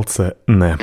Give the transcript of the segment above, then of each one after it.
Palce ne.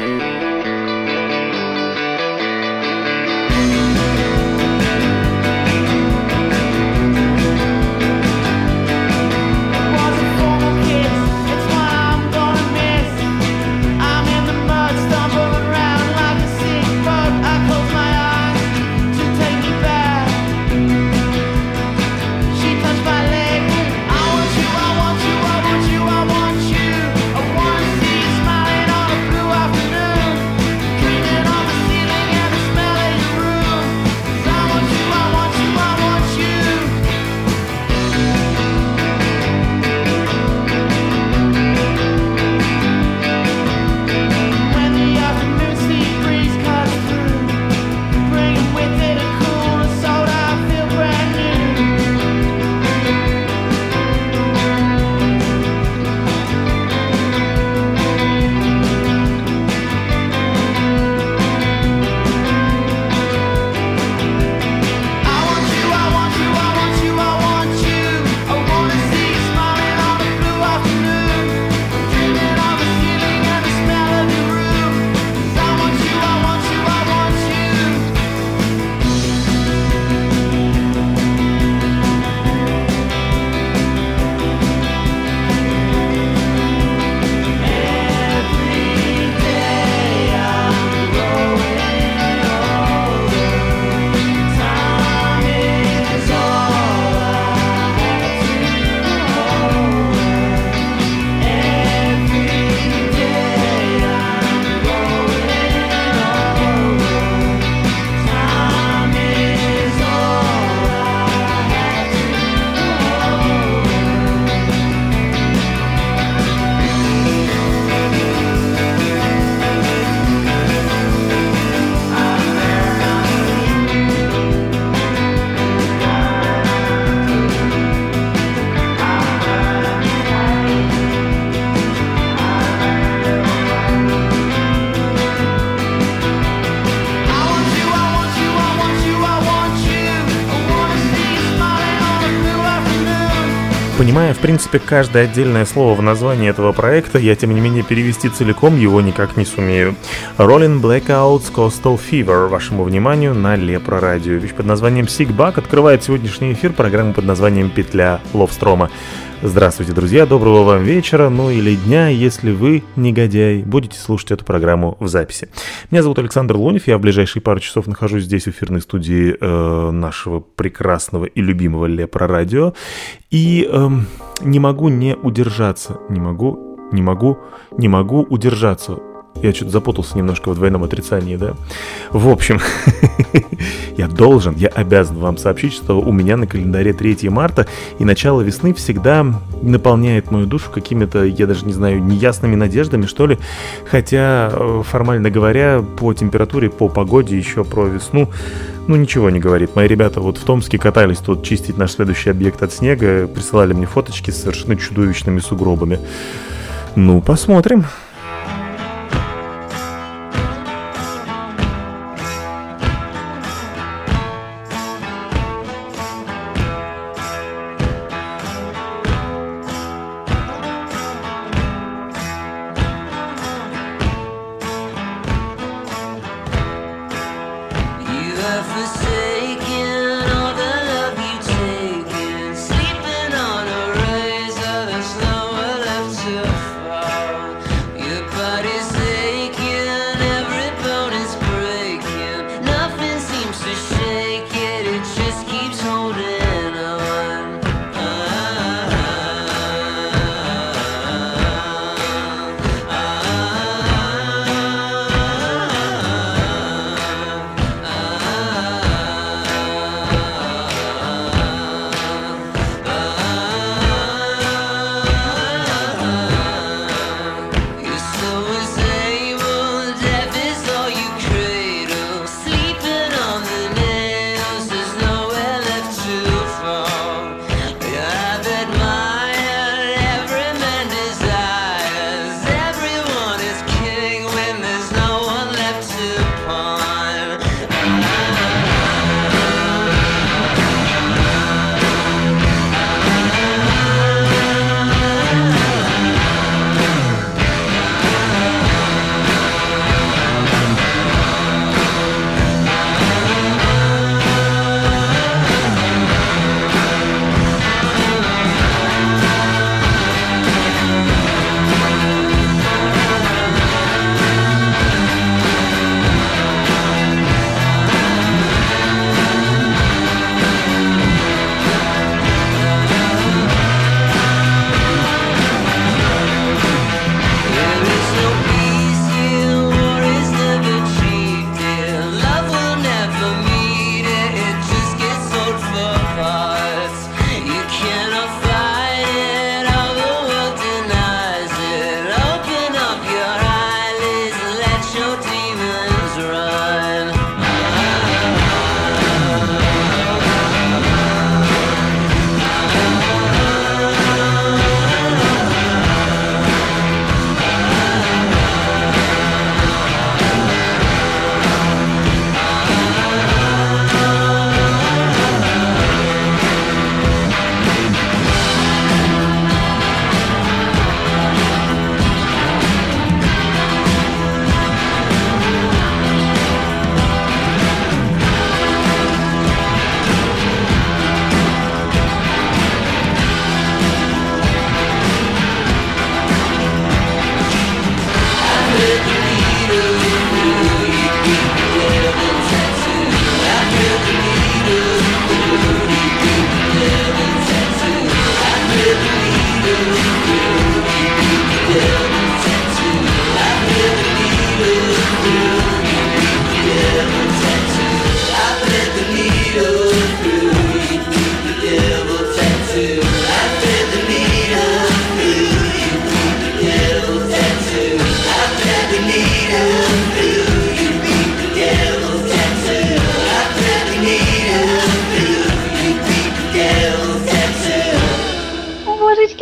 Понимая, в принципе, каждое отдельное слово в названии этого проекта, я, тем не менее, перевести целиком его никак не сумею. Rolling Blackouts Coastal Fever, вашему вниманию на Лепро Радио. Вещь под названием Sick Bug открывает сегодняшний эфир программы под названием «Петля Ловстрома». Здравствуйте, друзья, доброго вам вечера, ну или дня, если вы, негодяй, будете слушать эту программу в записи. Меня зовут Александр Лунев, я в ближайшие пару часов нахожусь здесь в эфирной студии нашего прекрасного и любимого Лепро Радио. И не могу не удержаться, не могу удержаться. Я что-то запутался немножко в двойном отрицании, да? В общем, я обязан вам сообщить, что у меня на календаре 3 марта, и начало весны всегда наполняет мою душу какими-то, я даже не знаю, неясными надеждами, что ли. Хотя, формально говоря, по температуре, по погоде еще про весну, ничего не говорит. Мои ребята вот в Томске катались тут чистить наш следующий объект от снега, присылали мне фоточки с совершенно чудовищными сугробами. Посмотрим.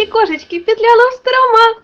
кошечки, петля Ловстрома.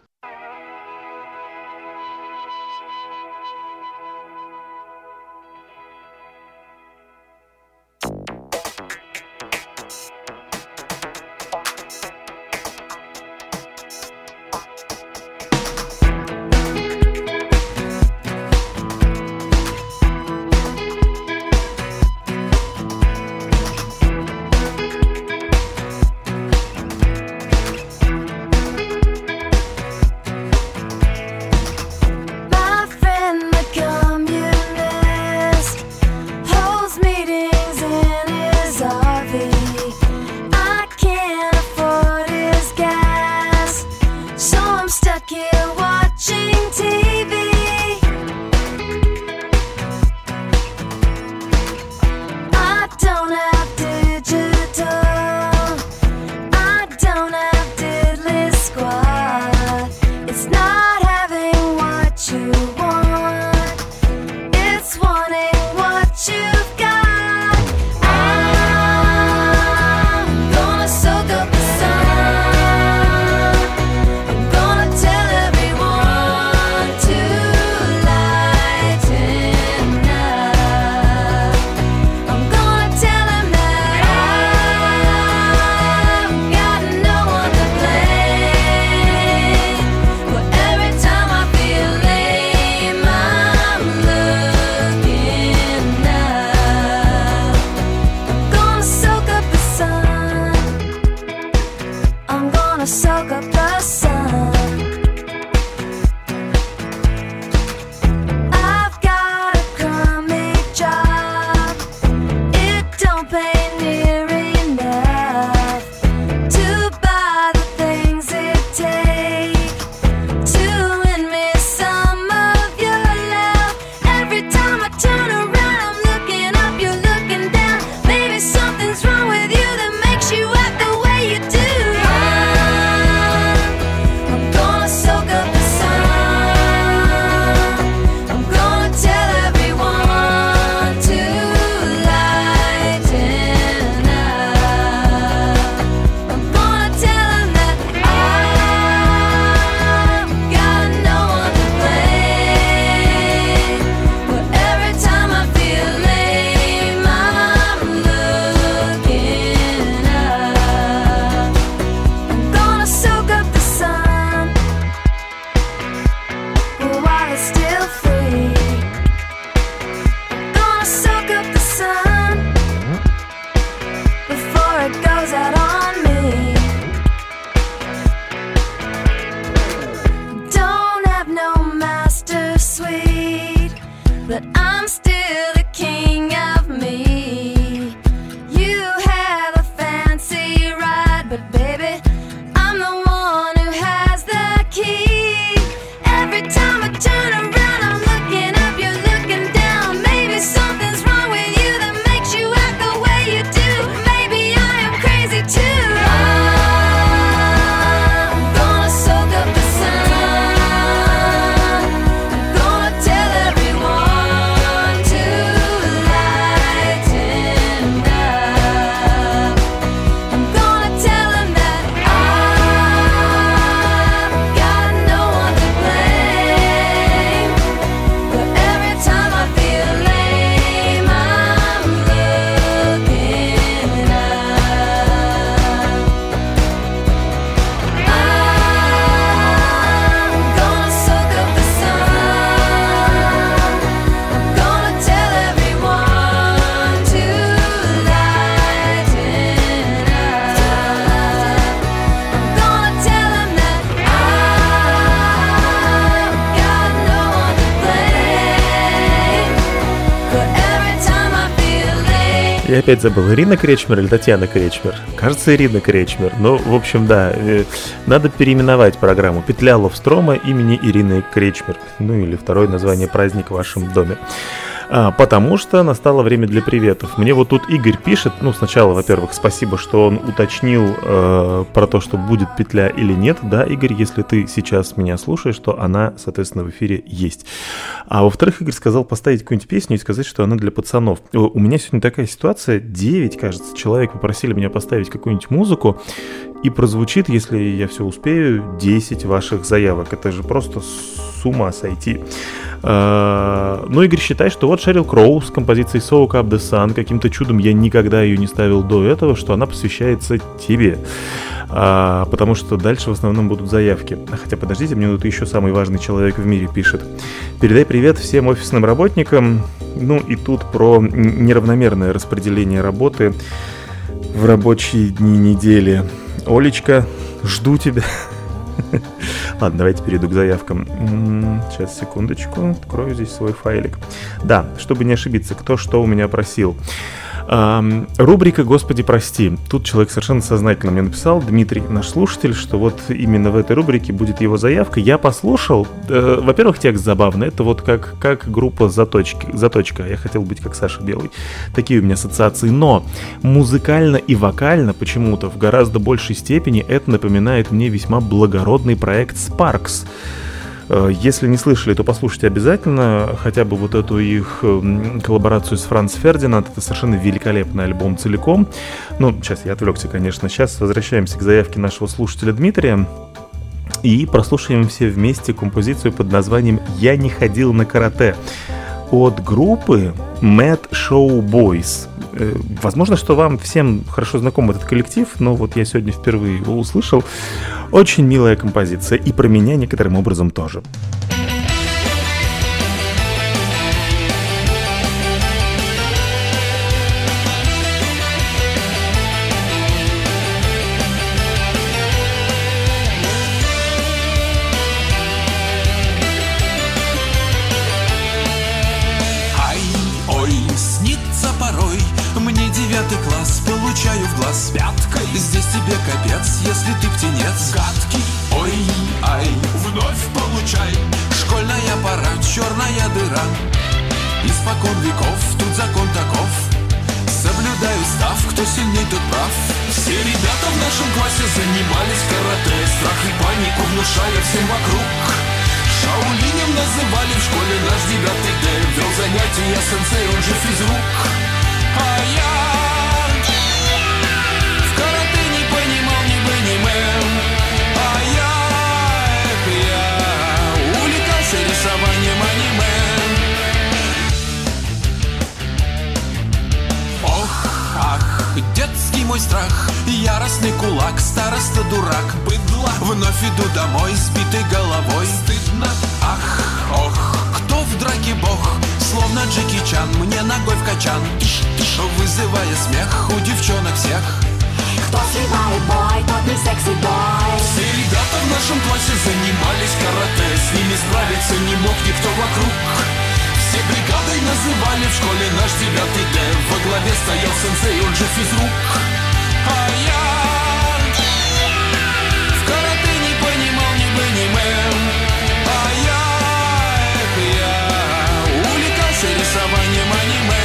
Я опять забыл, Ирина Кречмер или Татьяна Кречмер? Кажется, Ирина Кречмер. Ну, в общем, да, надо переименовать программу «Петля Ловстрома» имени Ирины Кречмер. Ну, или второе название «Праздник в вашем доме». Потому что настало время для приветов. Мне вот тут Игорь пишет, ну, сначала, во-первых, спасибо, что он уточнил про то, что будет петля или нет. Да, Игорь, если ты сейчас меня слушаешь, то она, соответственно, в эфире есть. А во-вторых, Игорь сказал поставить какую-нибудь песню и сказать, что она для пацанов. У меня сегодня такая ситуация, 9, кажется, человек попросили меня поставить какую-нибудь музыку. и прозвучит, если я все успею, 10 ваших заявок. Это же просто с ума сойти. Ну, Игорь считает, что вот Шерил Кроу с композицией Soak Up The Sun, каким-то чудом я никогда ее не ставил до этого, что она посвящается тебе. Потому что дальше в основном будут заявки. Хотя, подождите, мне тут еще самый важный человек в мире пишет. Передай привет всем офисным работникам. Ну и тут про неравномерное распределение работы в рабочие дни недели. Олечка, жду тебя. Ладно, давайте перейду к заявкам. Сейчас, секундочку, открою здесь свой файлик. Да, чтобы не ошибиться, кто что у меня просил. Рубрика «Господи, прости». Тут человек совершенно сознательно мне написал, Дмитрий, наш слушатель, что вот именно в этой рубрике будет его заявка. Я послушал. Во-первых, текст забавный. Это вот как группа «Заточка». Я хотел быть как Саша Белый. Такие у меня ассоциации. Но музыкально и вокально почему-то в гораздо большей степени это напоминает мне весьма благородный проект Sparks. Если не слышали, то послушайте обязательно хотя бы вот эту их коллаборацию с Франц Фердинанд. Это совершенно великолепный альбом целиком. Ну, сейчас я отвлекся, конечно. Сейчас возвращаемся к заявке нашего слушателя Дмитрия и прослушаем все вместе композицию под названием «Я не ходил на карате» от группы Mad Show Boys. Возможно, что вам всем хорошо знаком этот коллектив, но вот я сегодня впервые его услышал. Очень милая композиция, и про меня некоторым образом тоже. Получаю в глаз пяткой. Здесь тебе капец, если ты птенец гадкий. Ой-ай, вновь получай. Школьная пора, черная дыра. Испокон веков, тут закон таков. Соблюдаю став, кто сильней, тот прав. Все ребята в нашем классе занимались карате, страх и панику внушая всем вокруг. Шаолинем называли в школе наш 9-й Д. Вел занятия сенсей, он же физрук. А я рисованием аниме. Ох, ах, детский мой страх, яростный кулак, староста дурак, быдло. Вновь иду домой, сбитой головой. Стыдно, ах, ох, кто в драке бог? Словно Джеки Чан, мне ногой в качан, вызывая смех у девчонок всех. Кто сливает бой, тот не секси-бой. Все ребята в нашем классе занимались карате. С ними справиться не мог никто вокруг. Все бригадой называли в школе наш 9-й Д. Во главе стоял сенсей, он же физрук. А я в карате не понимал ни бы, ни мэн. А я увлекался рисованием аниме.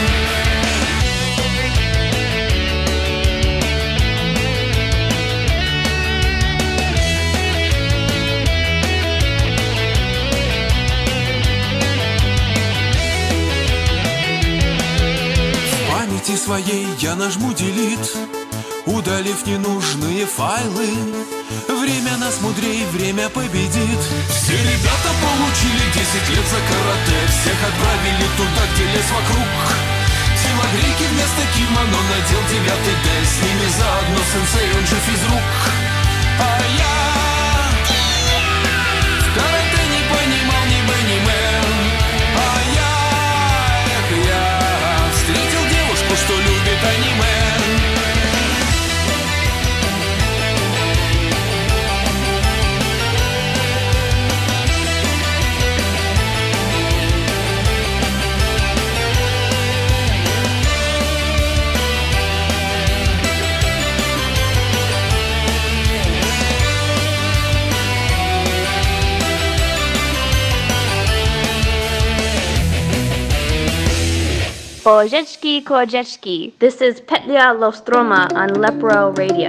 Своей я нажму delete, удалив ненужные файлы. Время нас мудрей, время победит. Все ребята получили 10 лет за карате. Всех отправили туда, где лес вокруг. Телогрейки вместо кимоно надел 9-й Д. С ними заодно сенсей, он же физрук. А я в карате не понимал ни бы, ни мэн. А я встретил девушку, что любит аниме. Bożeczki, korzeczki. This is Petlia Lostroma on Lepro Radio.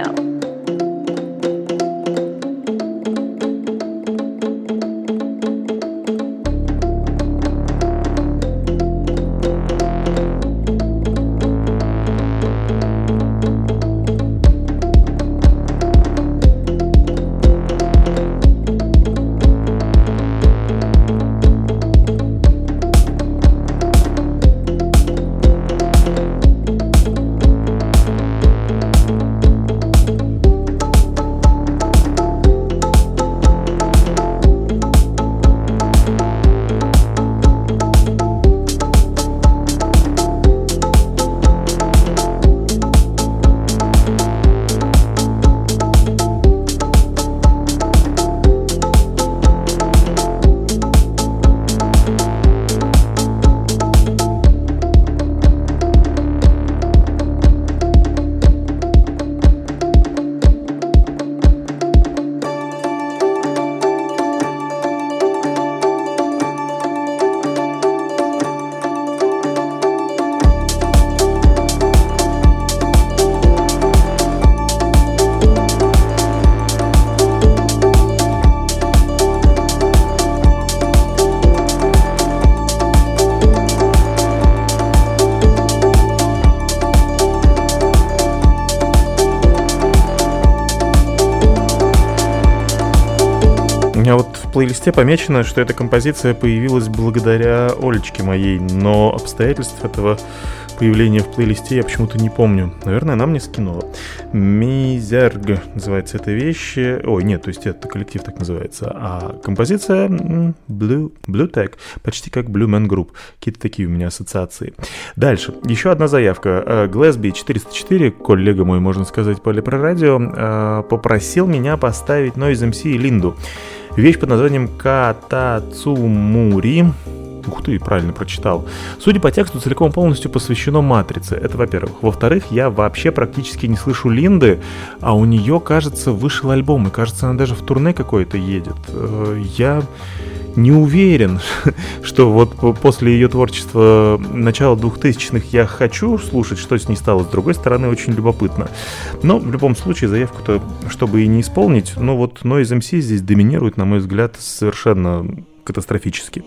меня вот в плейлисте помечено, что эта композиция появилась благодаря Олечке моей, но обстоятельств этого появления в плейлисте я почему-то не помню. Наверное, она мне скинула. Мизерг называется эта вещь. Ой, нет, то есть это коллектив так называется. А композиция Blue Tag, почти как Blue Man Group. Какие-то такие у меня ассоциации. Дальше. Еще одна заявка. Глэсби 404, коллега мой, можно сказать, по Лепрорадио, попросил меня поставить Noise MC и Линду. Вещь под названием Катацумури. Ух ты, правильно прочитал. Судя по тексту, целиком полностью посвящено «Матрице». Это, во-первых. Во-вторых, я вообще практически не слышу Линды, а у нее, кажется, вышел альбом, и, кажется, она даже в турне какое-то едет. Я не уверен, что вот после ее творчества начала 2000-х я хочу слушать, что с ней стало. С другой стороны, очень любопытно. Но в любом случае заявку-то, чтобы и не исполнить, но вот Noise MC здесь доминирует, на мой взгляд, совершенно катастрофически.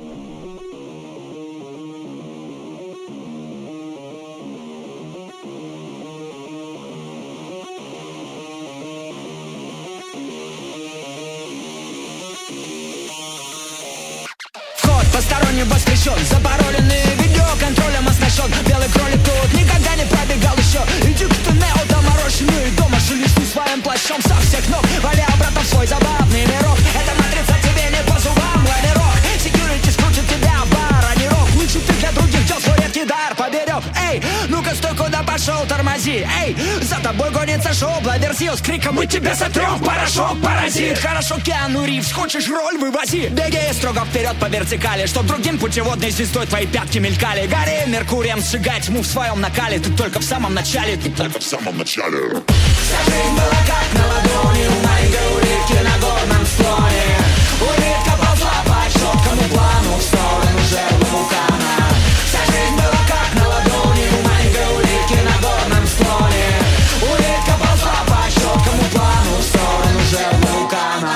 Посторонним воспрещен, запароленный видеоконтролем оснащен. Белый кролик тут никогда не пробегал еще. Иди к Нео, доморощенный дома шелести своим плащом со всех ног, валя обратно в свой забавный мирок. Эта матрица тебе не по зубам, лавирок. Секьюрити скрутит тебя в бар, а не рок. Лучше ты для других дел свой редкий дар поберег. Эй, ну-ка стой, куда пошел, тормози. Эй, за тобой гонится шоу, Блаверсил с криком мы тебя сотрем в порошок, паразит. Хорошо, Киану Ривз, хочешь роль, вывози. Беги строго вперед по вертикали, чтоб другим путеводной звездой твои пятки мелькали. Гори Меркурием, сжигай тьму в своем накале. Ты только в самом начале, ты только в самом начале. Вся жизнь была как на ладони у маленькой улитки на горном склоне. Улитка ползла по четкому плану в сторону жерлы вулкана. Вся жизнь была как на ладони у маленькой улитки на горном склоне. Улитка ползла по четкому плану в сторону жерлы вулкана.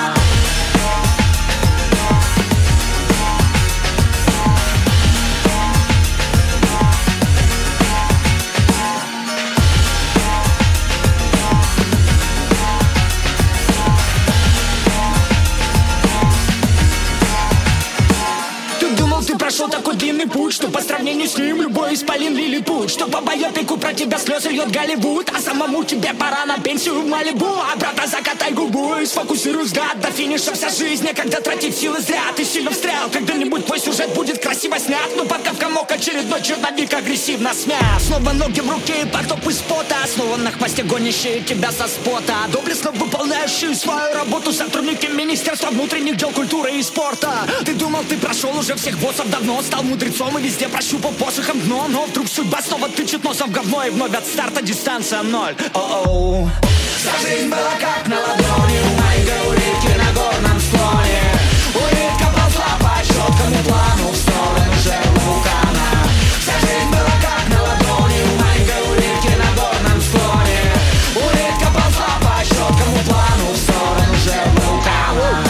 Прошел такой длинный путь, что по сравнению с ним любой исполин лилипут. Что по байопику про тебя слезы льет Голливуд, а самому тебе пора на пенсию в Малибу. А брата закатай губу и сфокусируй взгляд. До финиша вся жизнь, когда тратить силы зря. Ты сильно встрял, когда-нибудь твой сюжет будет красиво снят. Но пока в комок очередной черновик агрессивно смят. Снова ноги в руке и потоп из пота. Снова на хвосте гонящие тебя со спота. Доблестно выполняющие свою работу сотрудники Министерства внутренних дел, культуры и спорта. Ты думал, ты прошел уже всех боссов давно, стал мудрецом и везде прощупал посохом дно. Но вдруг судьба снова тычет носом в говно, и вновь от старта дистанция ноль. О-оу. Вся жизнь была как на ладони у маленькой улитки на горном склоне. Улитка ползла по четкому плану в сторону жерлы вулкана. Вся жизнь была как на ладони у маленькой улитки на горном склоне. Улитка ползла по четкому плану в сторону жерлы вулкана.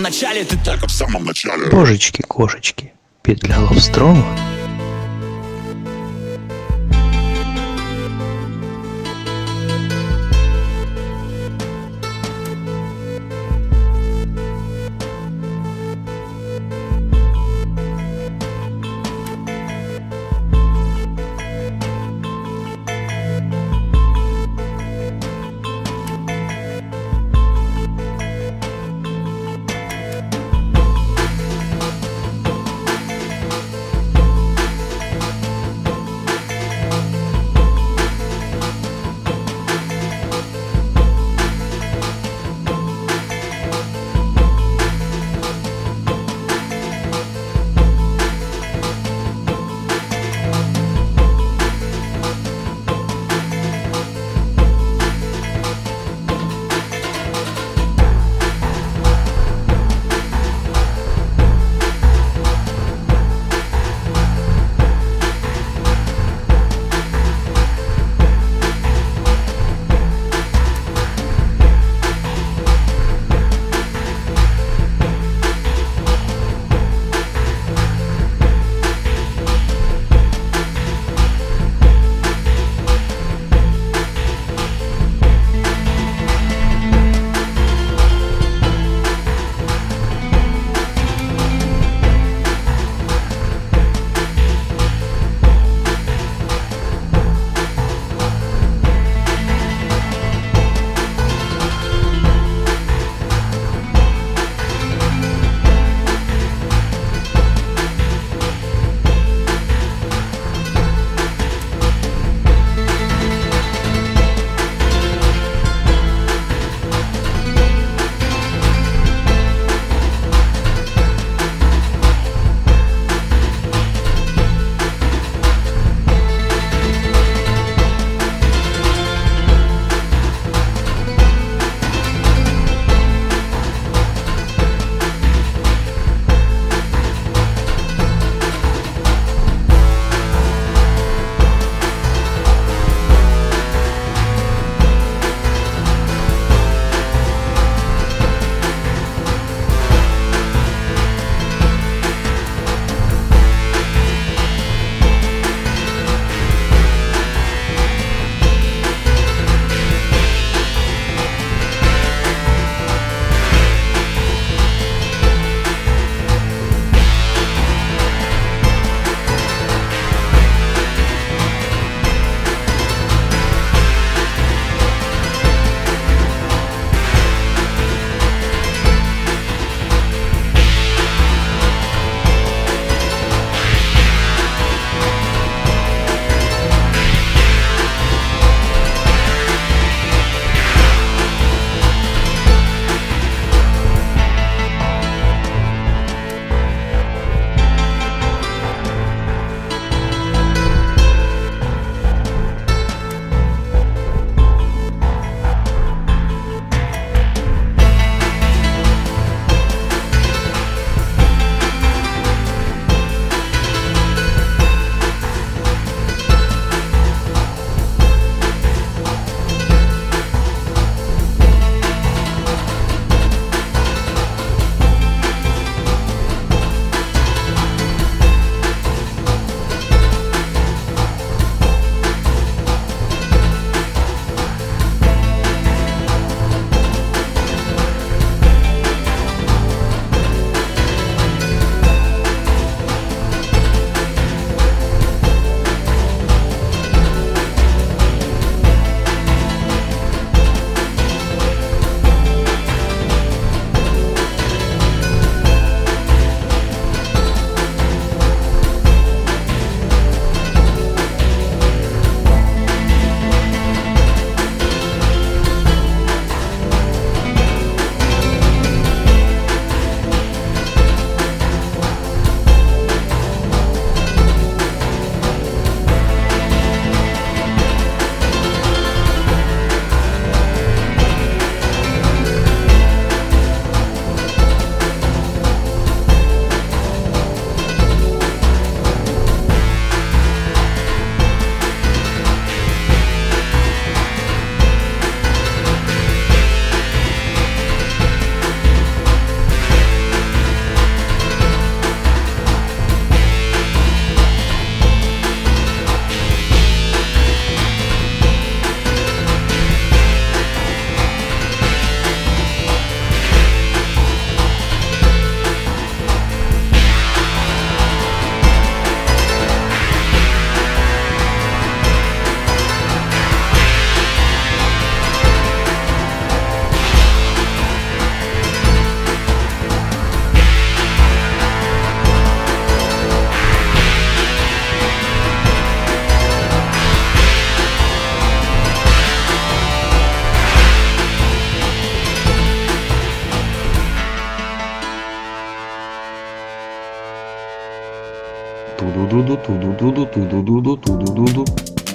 начале, ты только в самом начале. Божечки-кошечки, петля Ловстрома. Ту-ду-ду-ду-ду-ду-ду-ду-ду.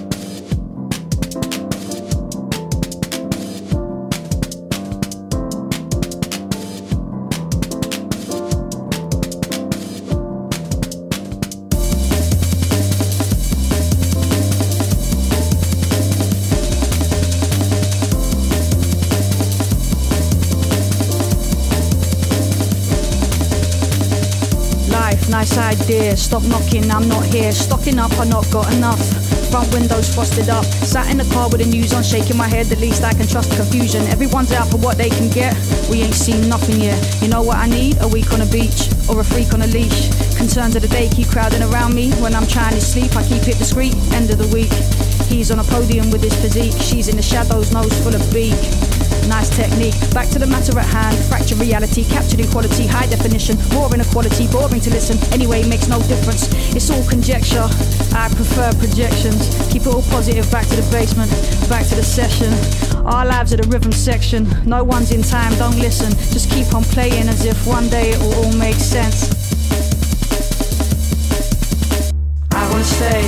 Nice idea, stop knocking, I'm not here. Stocking up, I not got enough. Front windows frosted up. Sat in the car with the news on, shaking my head. The least I can trust the confusion. Everyone's out for what they can get. We ain't seen nothing yet. You know what I need? A week on a beach or a freak on a leash. Concerns of the day keep crowding around me. When I'm trying to sleep, I keep it discreet. End of the week. He's on a podium with his physique. She's in the shadows, nose full of beak. Nice technique, back to the matter at hand. Fracture reality, captured in quality, high definition. Raw inequality, boring to listen. Anyway, makes no difference, it's all conjecture. I prefer projections. Keep it all positive, back to the basement, back to the session. Our lives are the rhythm section. No one's in time, don't listen. Just keep on playing as if one day it will all make sense. I wanna stay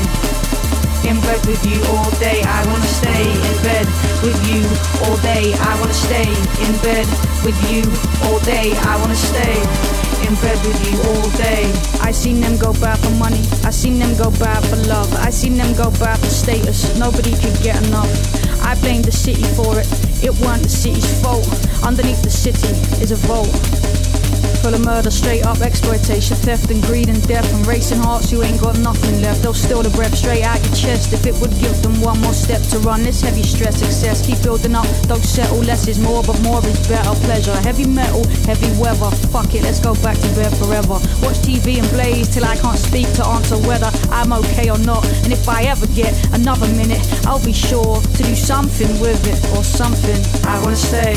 in bed with you all day. I wanna stay in bed with you all day. I wanna stay in bed with you all day. I wanna stay in bed with you all day. I seen them go bad for money, I seen them go bad for love, I seen them go bad for status. Nobody could get enough. I blamed the city for it, it weren't the city's fault. Underneath the city is a vault full of murder, straight up exploitation, theft and greed and death and racing hearts. You ain't got nothing left. They'll steal the breath straight out your chest if it would give them one more step to run this heavy stress. Excess, keep building up, don't settle. Less is more, but more is better. Pleasure, heavy metal, heavy weather. Fuck it, let's go back to bed forever. Watch TV and blaze till I can't speak to answer whether I'm okay or not. And if I ever get another minute, I'll be sure to do something with it or something. I wanna stay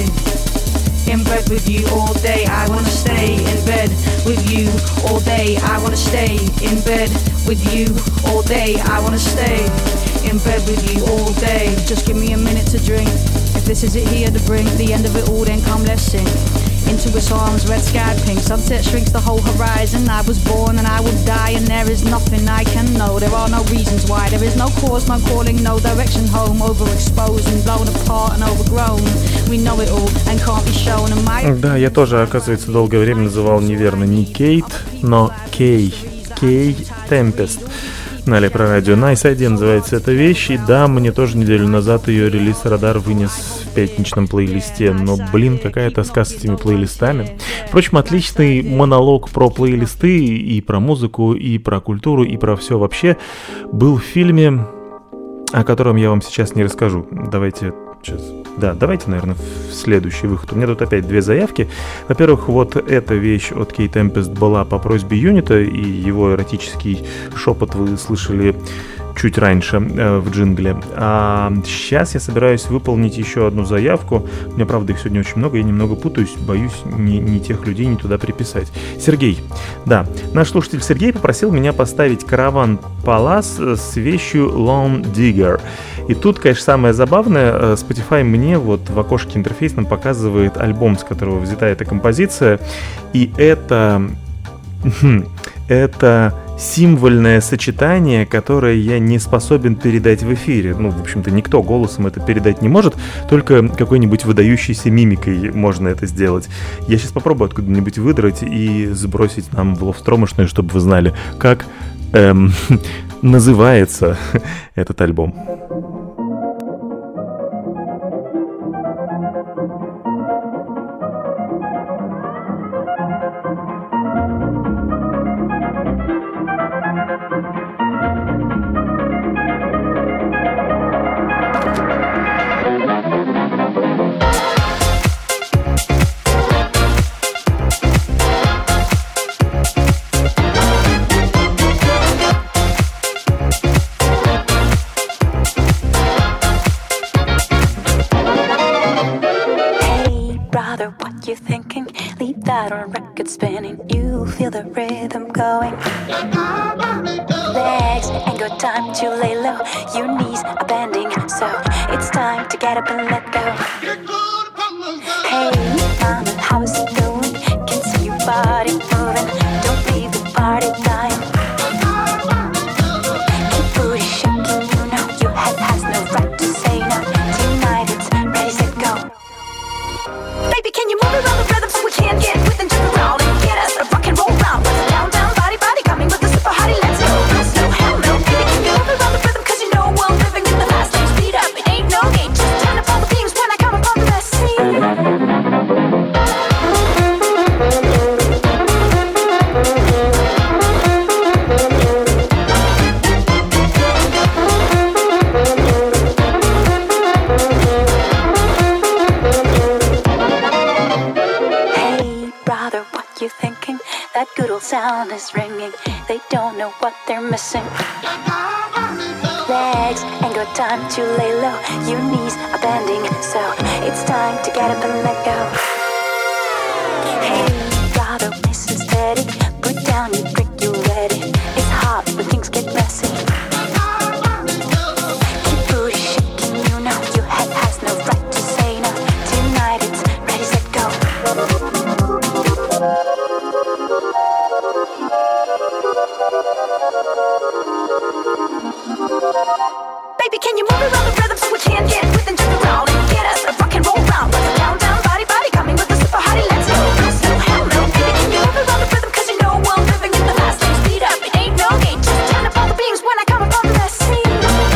in bed with you all day. I wanna stay in bed with you all day. I wanna stay in bed with you all day. I wanna stay in bed with you all day. Just give me a minute to drink. If this is it here to bring the end of it all, then come let's sing. Into its arms, red sky pink. Sunset shrinks the whole horizon. I was born and I will die, and there is nothing I can know. There are no reasons why. There is no cause, no calling, no direction home. Overexposed and blown apart and overgrown. We know it all and can't be shown. And my... Да, я тоже, оказывается, долгое время называл неверно не Кейт, но Кей. Кей Темпест. На Лепро Радио. Nice Idea называется эта вещь. И да, мне тоже неделю назад ее релиз Радар вынес в пятничном плейлисте. Но, блин, какая тоска с этими плейлистами. Впрочем, отличный монолог про плейлисты и про музыку, и про культуру, и про все вообще был в фильме, о котором я вам сейчас не расскажу. Давайте, наверное, в следующий выход. У меня тут опять две заявки. Во-первых, вот эта вещь от Кей Темпест была по просьбе Юнита, и его эротический шепот вы слышали чуть раньше в джингле. А сейчас я собираюсь выполнить еще одну заявку. У меня, правда, их сегодня очень много, я немного путаюсь, боюсь не тех людей не туда приписать. Сергей. Да, наш слушатель Сергей попросил меня поставить Караван Палас с вещью Lone Digger. И тут, конечно, самое забавное, Spotify мне вот в окошке интерфейсном показывает альбом, с которого взята эта композиция, и это символьное сочетание, которое я не способен передать в эфире. Ну, в общем-то, никто голосом это передать не может, только какой-нибудь выдающейся мимикой можно это сделать. Я сейчас попробую откуда-нибудь выдрать и сбросить нам в ловстромошную, чтобы вы знали, как называется этот альбом. Spinning, you feel the rhythm going. Legs ain't got time to lay low. Your knees are bending, so it's time to get up and let go. Hey, mama, how's it going? Can see your body moving. Don't leave the party time. Can sound is ringing. They don't know what they're missing. Legs ain't got time to lay low. Your knees are bending, so it's time to get up and let go. Hey, brother, listen steady. Put down your brick, you're ready. It's hard when things get messy. Keep booty shaking, you know your head has no right to say no. Tonight it's ready, set, go. Baby, can you move around the rhythm so we can get with and turn around and get us a rock and roll round? Down, down, body, body, coming with the super hottie, let's go. No, slow, hell no. Baby, can you move around the rhythm? Cause you know we're living in the fast lane. Speed up, it ain't no game. Just turn up all the beams when I come up on the scene.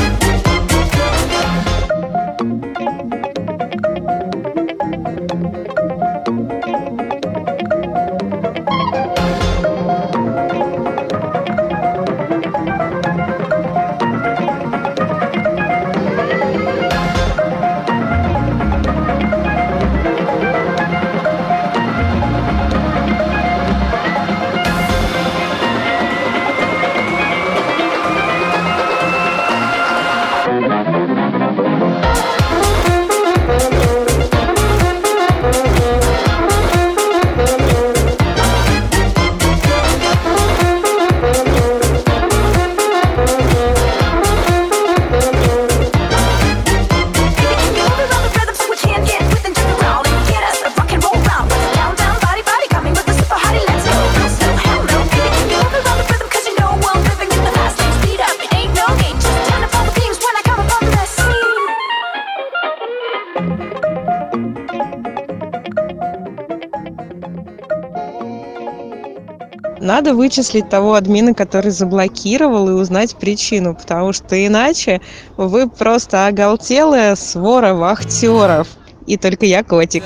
Надо вычислить того админа, который заблокировал, и узнать причину, потому что иначе вы просто оголтелая свора вахтеров. И только я котик.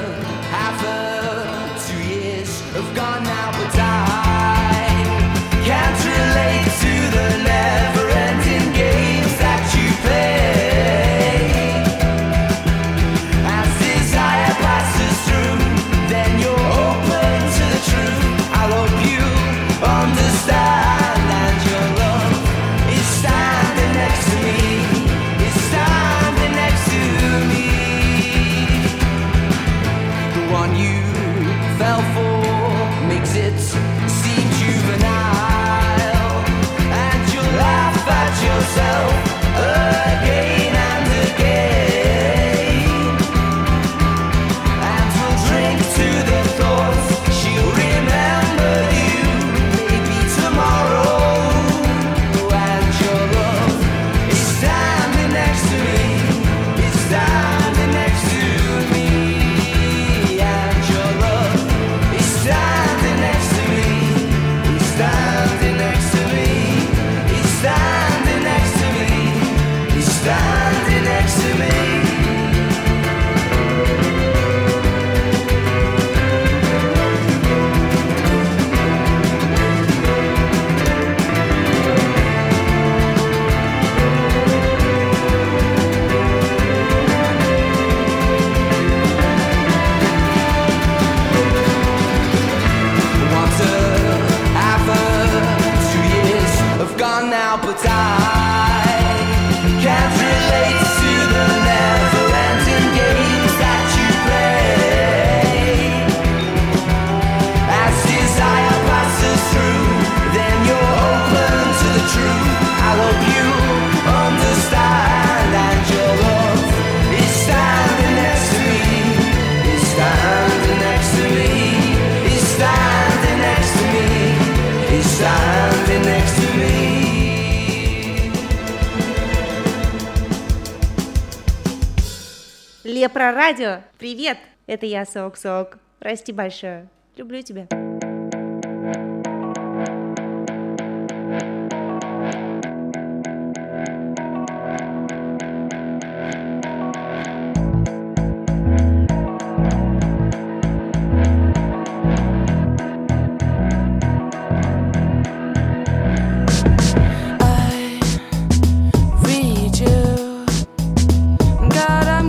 Лепро Радио, привет! Это я, Сок-Сок. Расти большое. Люблю тебя.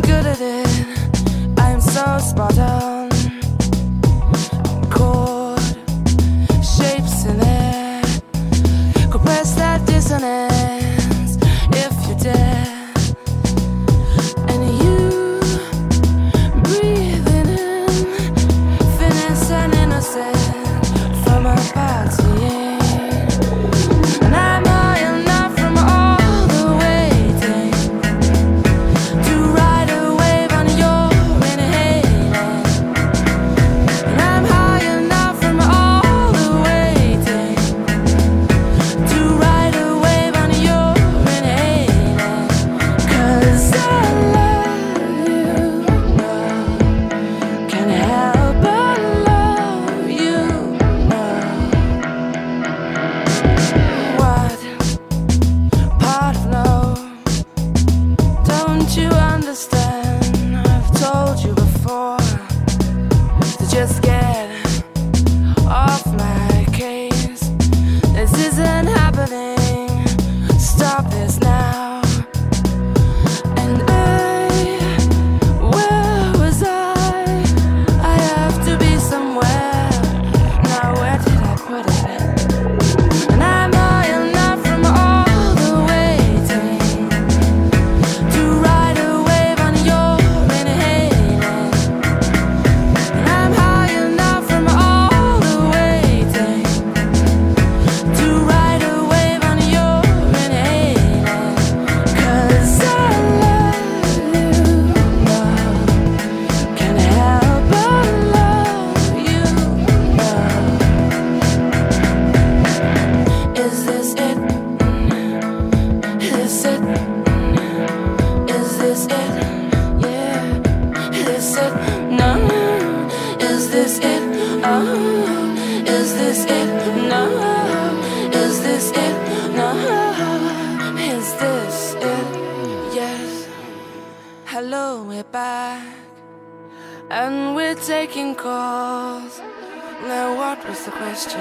Spot on, caught we're back and we're taking calls. Now what was the question?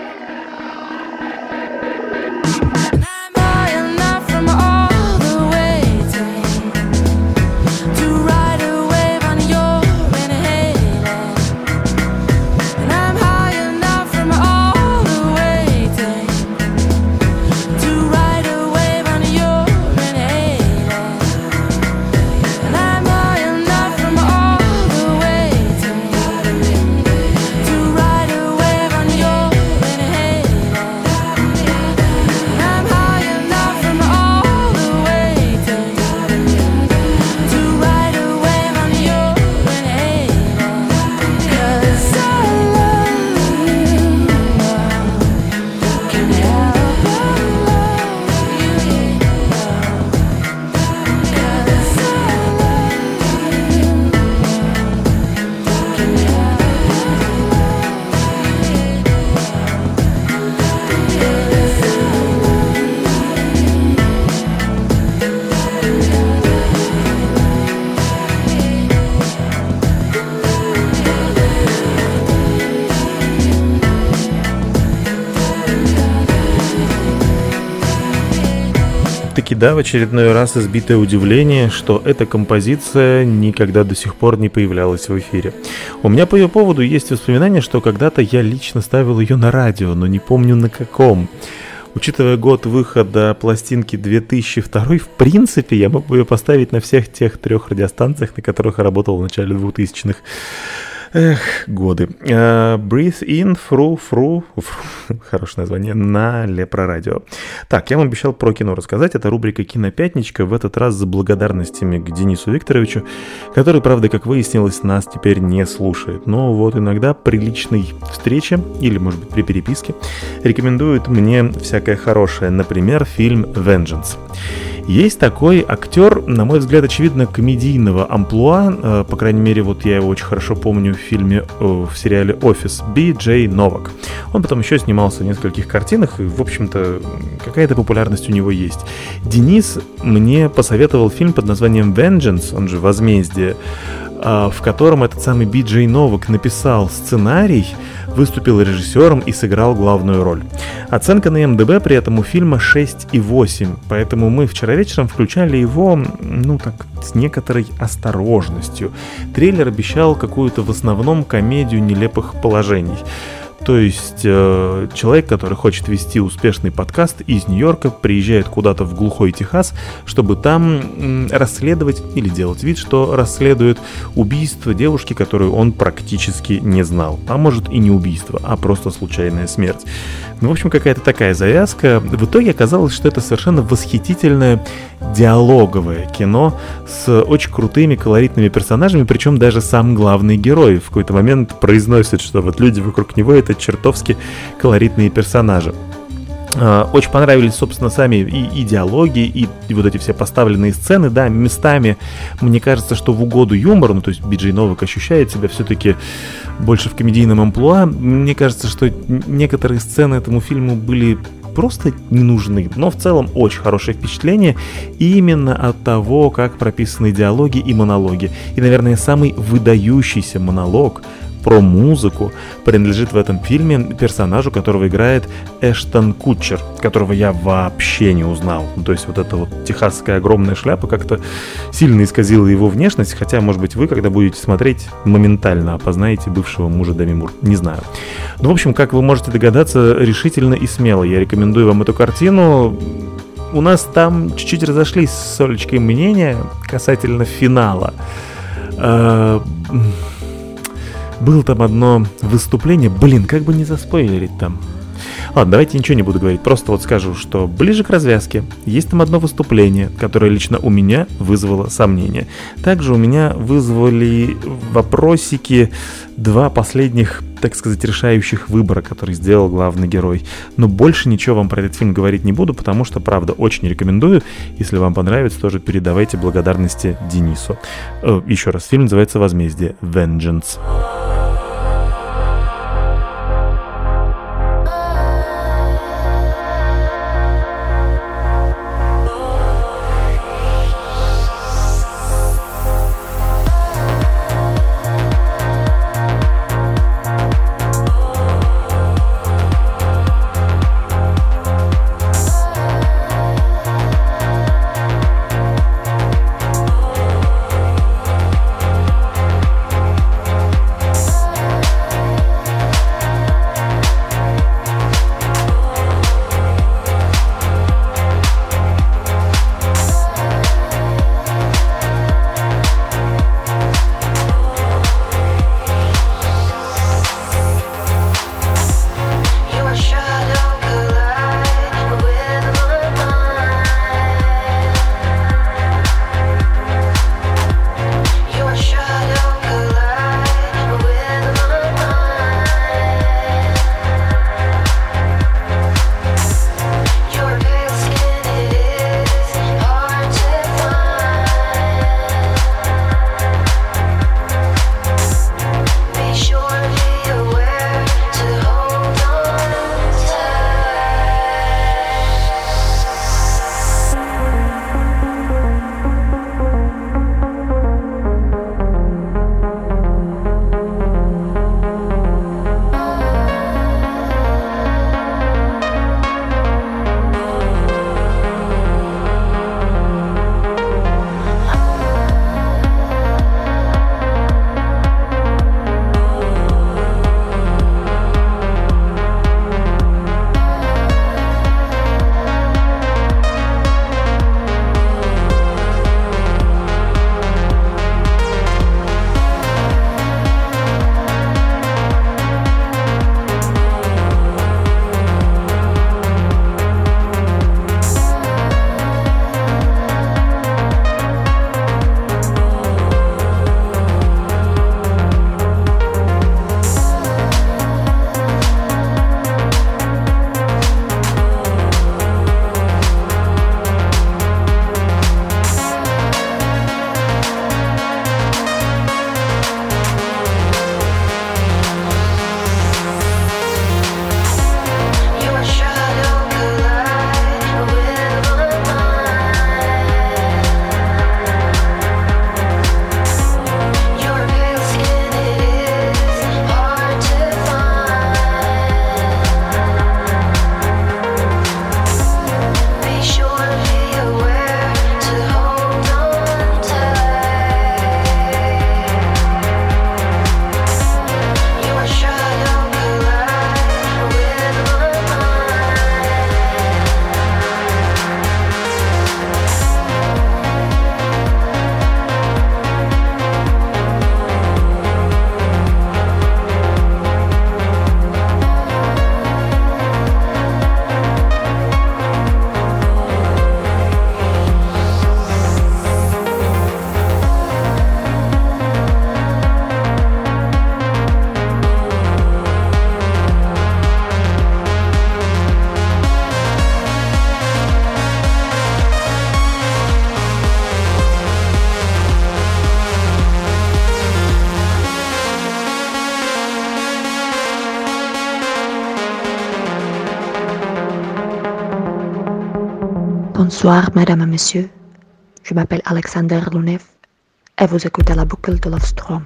Таки да, в очередной раз избитое удивление, что эта композиция никогда до сих пор не появлялась в эфире. У меня по ее поводу есть воспоминание, что когда-то я лично ставил ее на радио, но не помню на каком. Учитывая год выхода пластинки 2002, в принципе, я мог бы ее поставить на всех тех 3 радиостанциях, на которых я работал в начале 2000-х. Годы. Breathe in, through, хорошее название, на Лепро Радио. Так, я вам обещал про кино рассказать. Это рубрика «Кинопятничка», в этот раз с благодарностями к Денису Викторовичу, который, правда, как выяснилось, нас теперь не слушает. Но вот иногда при личной встрече, или, может быть, при переписке, рекомендует мне всякое хорошее. Например, фильм «Vengeance». Есть такой актер, на мой взгляд, очевидно, комедийного амплуа, по крайней мере, вот я его очень хорошо помню в сериале «Офис», Би Джей Новак. Он потом еще снимался в нескольких картинах, и, в общем-то, какая-то популярность у него есть. Денис мне посоветовал фильм под названием «Vengeance», он же «Возмездие», в котором этот самый Би Джей Новак написал сценарий, выступил режиссером и сыграл главную роль. Оценка на МДБ при этом у фильма 6,8, поэтому мы вчера вечером включали его, так, с некоторой осторожностью. Трейлер обещал какую-то в основном комедию нелепых положений. То есть человек, который хочет вести успешный подкаст из Нью-Йорка, приезжает куда-то в глухой Техас, чтобы там расследовать или делать вид, что расследует убийство девушки, которую он практически не знал. А может и не убийство, а просто случайная смерть. В общем, какая-то такая завязка. В итоге оказалось, что это совершенно восхитительное диалоговое кино с очень крутыми колоритными персонажами, причем даже сам главный герой в какой-то момент произносит, что вот люди вокруг него — это чертовски колоритные персонажи. Очень понравились, собственно, сами и диалоги, и вот эти все поставленные сцены, да, местами, мне кажется, что в угоду юмору, то есть Би Джей Новак ощущает себя все-таки больше в комедийном амплуа. Мне кажется, что некоторые сцены этому фильму были просто не нужны, но в целом очень хорошее впечатление именно от того, как прописаны диалоги и монологи. И, наверное, самый выдающийся монолог про музыку принадлежит в этом фильме персонажу, которого играет Эштон Кутчер, которого я вообще не узнал. То есть вот эта вот техасская огромная шляпа как-то сильно исказила его внешность, хотя, может быть, вы, когда будете смотреть, моментально опознаете бывшего мужа Деми Мур. Не знаю. Ну, в общем, как вы можете догадаться, решительно и смело я рекомендую вам эту картину. У нас там чуть-чуть разошлись с Олечкой мнения касательно финала. Было там одно выступление, как бы не заспойлерить там. Ладно, давайте ничего не буду говорить, просто вот скажу, что ближе к развязке есть там одно выступление, которое лично у меня вызвало сомнения. Также у меня вызвали вопросики 2 последних, так сказать, решающих выбора, который сделал главный герой. Но больше ничего вам про этот фильм говорить не буду, потому что, правда, очень рекомендую. Если вам понравится, тоже передавайте благодарности Денису. Еще раз, фильм называется «Возмездие», «Vengeance». Bonsoir, madame et monsieur. Je m'appelle Alexander Lounev et vous écoutez la boucle de Lovestrom.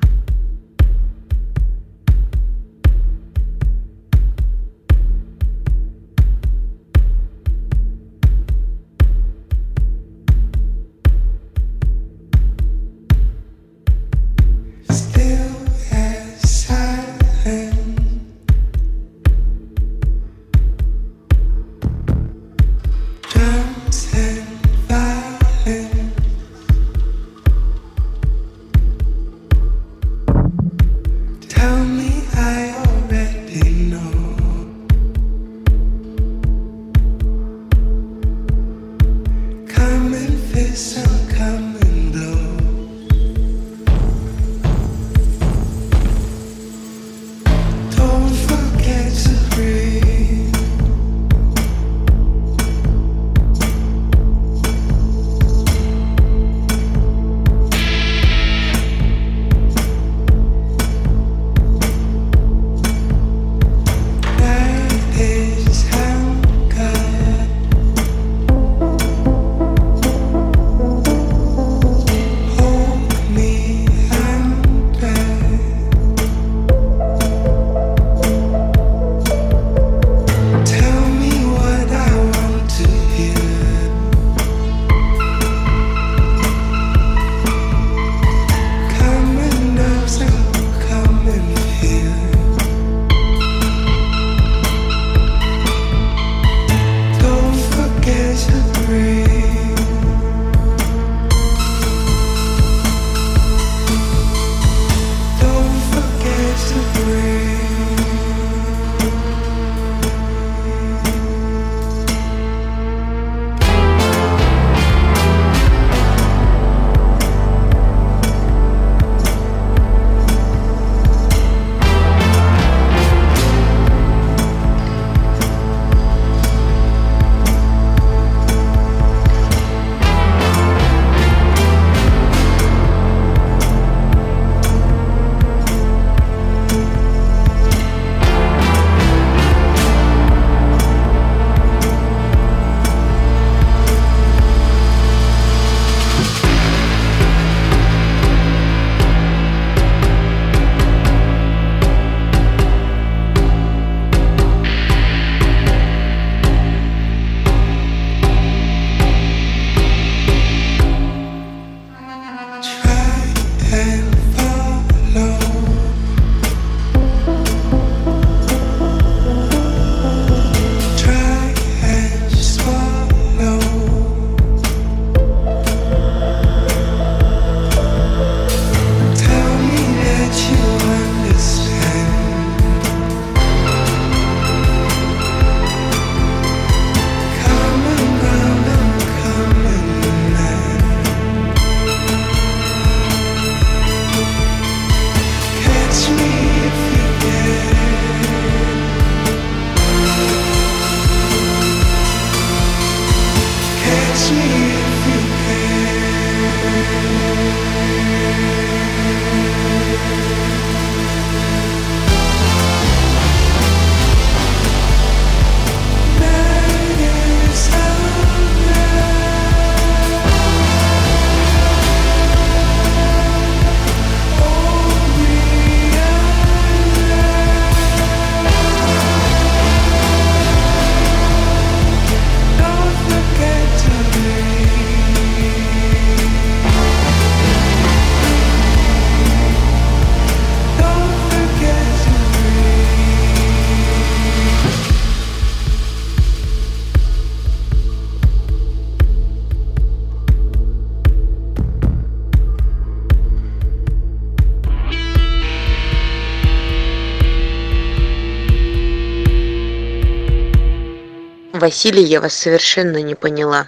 Василий, я вас совершенно не поняла.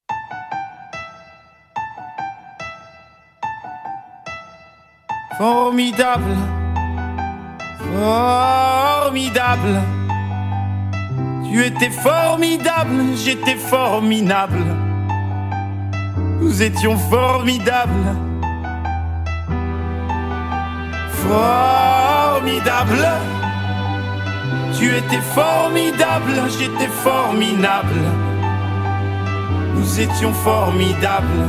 Formidable, formidable. Tu étais formidable, j'étais formidable. Nous étions formidables. Formidable. Tu étais formidable, j'étais formidable. nous étions formidables.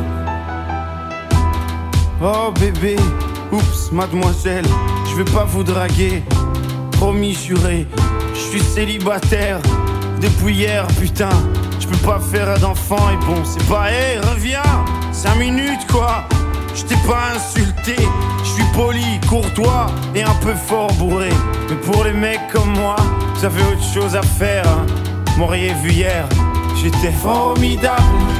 Oh bébé, oups, mademoiselle, je vais pas vous draguer. Promis, juré, je suis célibataire depuis hier, putain. Je peux pas faire d'enfant et bon, c'est pas, hey, reviens, 5 minutes quoi. Je t'ai pas insulté, je suis poli, courtois et un peu fort bourré. Mais pour les mecs comme moi, vous avez autre chose à faire, hein. M'auriez vu hier, j'étais formidable.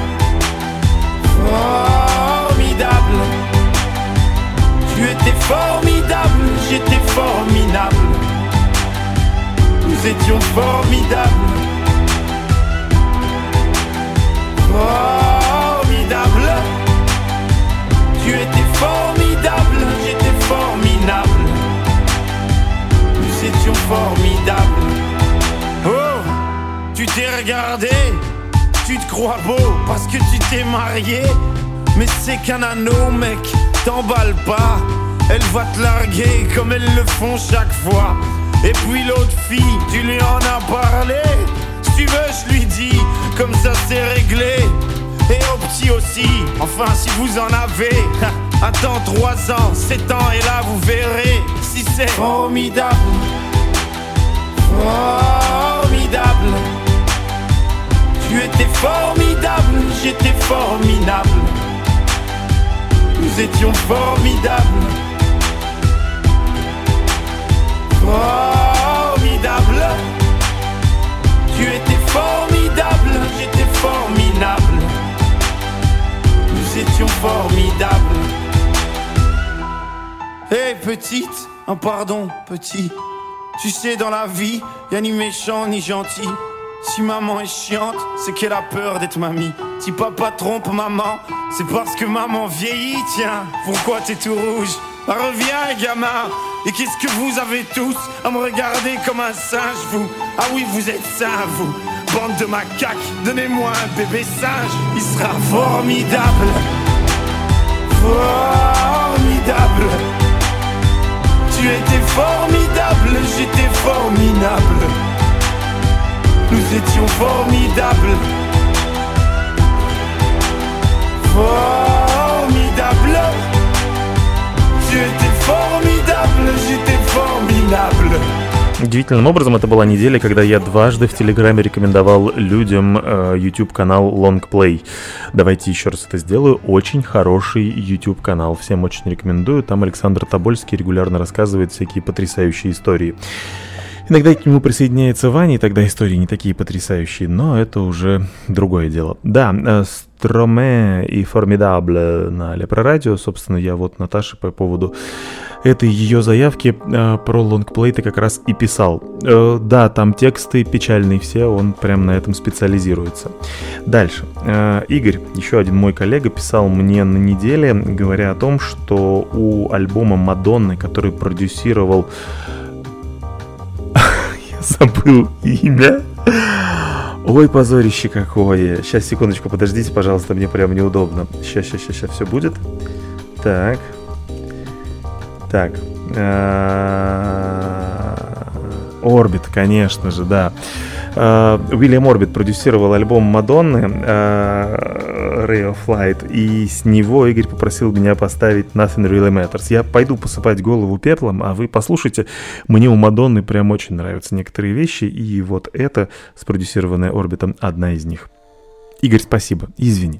Formidable. Tu étais formidable, j'étais formidable. Nous étions formidables. Formidable. Tu étais formidable, j'étais formidable. Nous étions formidables. Oh, tu t'es regardé, tu te crois beau parce que tu t'es marié. Mais c'est qu'un anneau, mec, t'emballe pas. Elle va te larguer comme elles le font chaque fois. Et puis l'autre fille, tu lui en as parlé. Si tu veux, je lui dis, comme ça c'est réglé. Et au petit aussi, enfin si vous en avez. Attends 3 ans, 7 ans et là vous verrez si c'est formidable. Formidable. Tu étais formidable, j'étais formidable. Nous étions formidables. Formidable. Tu étais formidable, j'étais formidable. Nous étions formidables. Hey petite, un pardon petit. Tu sais dans la vie, y'a ni méchant ni gentil. Si maman est chiante, c'est qu'elle a peur d'être mamie. Si papa trompe maman, c'est parce que maman vieillit. Tiens, pourquoi t'es tout rouge? Bah, reviens gamin. Et qu'est-ce que vous avez tous à me regarder comme un singe, vous? Ah oui, vous êtes sains, vous. Bande de macaques, donnez-moi un bébé singe. Il sera formidable. Formidable. Tu étais formidable, j'étais formidable. Nous étions formidables. Formidable. Tu étais formidable, j'étais formidable. Удивительным образом, это была неделя, когда я дважды в Телеграме рекомендовал людям YouTube-канал Longplay. Давайте еще раз это сделаю. Очень хороший YouTube-канал. Всем очень рекомендую. Там Александр Тобольский регулярно рассказывает всякие потрясающие истории. Иногда к нему присоединяется Ваня, и тогда истории не такие потрясающие, но это уже другое дело. Да, Строме и Формидабле на Лепро Радио. Собственно, я вот Наташе по поводу этой ее заявки про лонгплей-то как раз и писал. Да, там тексты печальные все, он прям на этом специализируется. Дальше. Игорь, еще один мой коллега, писал мне на неделе, говоря о том, что у альбома Мадонны, который продюсировал... Забыл имя. Ой, позорище какое. Сейчас, секундочку, подождите, пожалуйста, мне прям неудобно. Сейчас, все будет. Так. Орбит, конечно же, да. Уильям Орбит продюсировал альбом Мадонны Ray of Light, и с него Игорь попросил меня поставить Nothing Really Matters. Я пойду посыпать голову пеплом, а вы послушайте. Мне у Мадонны прям очень нравятся некоторые вещи, и вот это, спродюсированная Орбитом, одна из них. Игорь, спасибо, извини.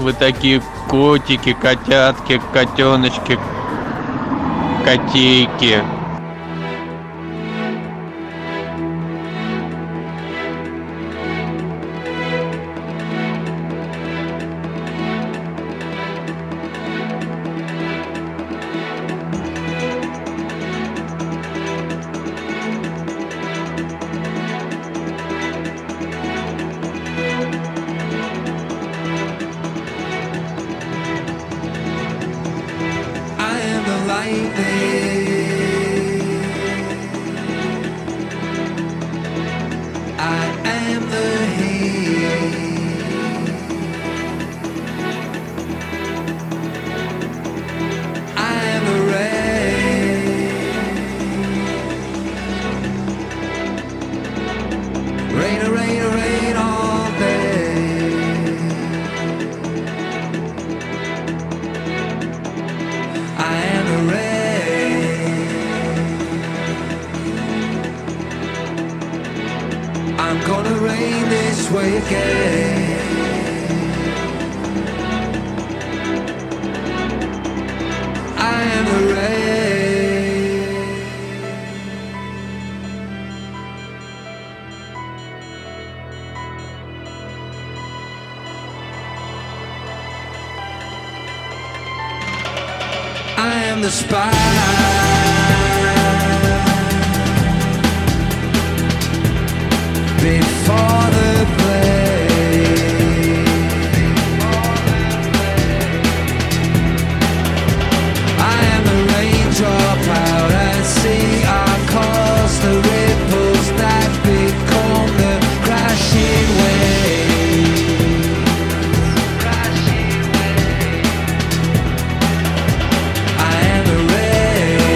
Вы такие котики, котятки, котеночки, котейки. The spy before the play. I am the raindrop out at sea. I cause the ripples that become the crashing wave. I am the rain.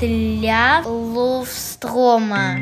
петля Ловстрома.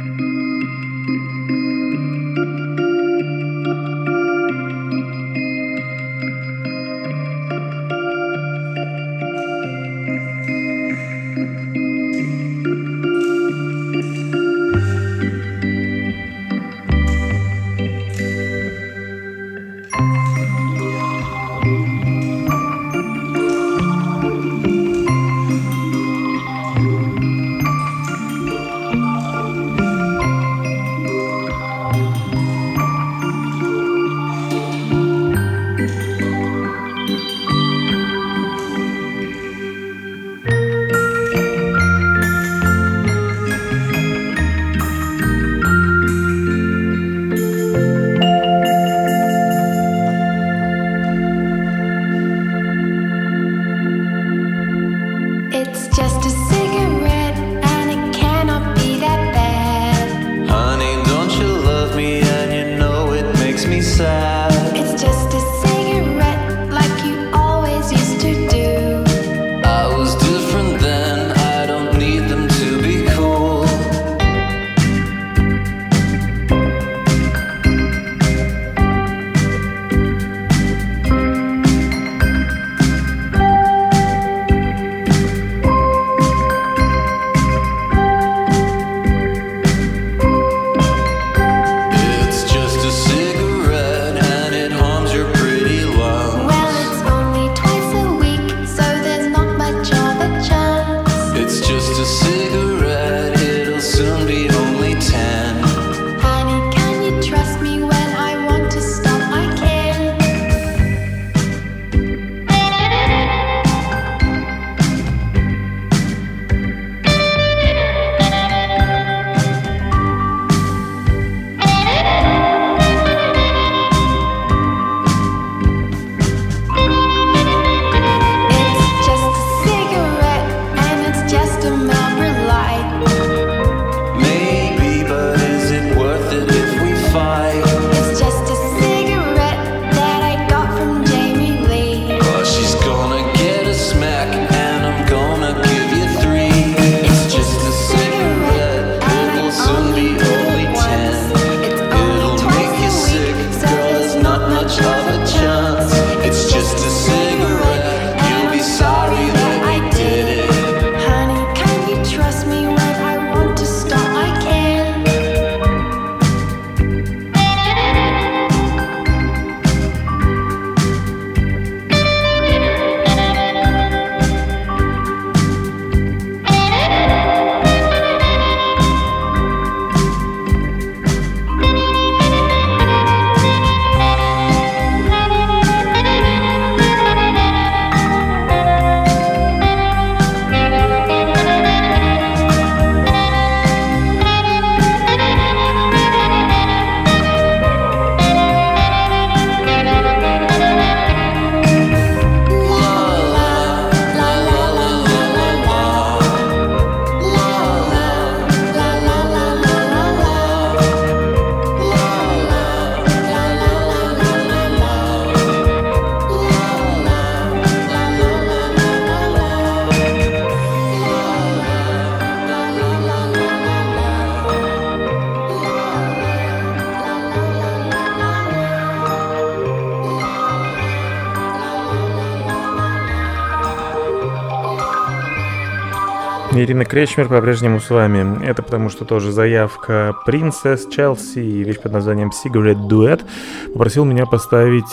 Ирина Кречмер по-прежнему с вами. Это потому, что тоже заявка Princess Chelsea и вещь под названием Cigarette Duet попросил меня поставить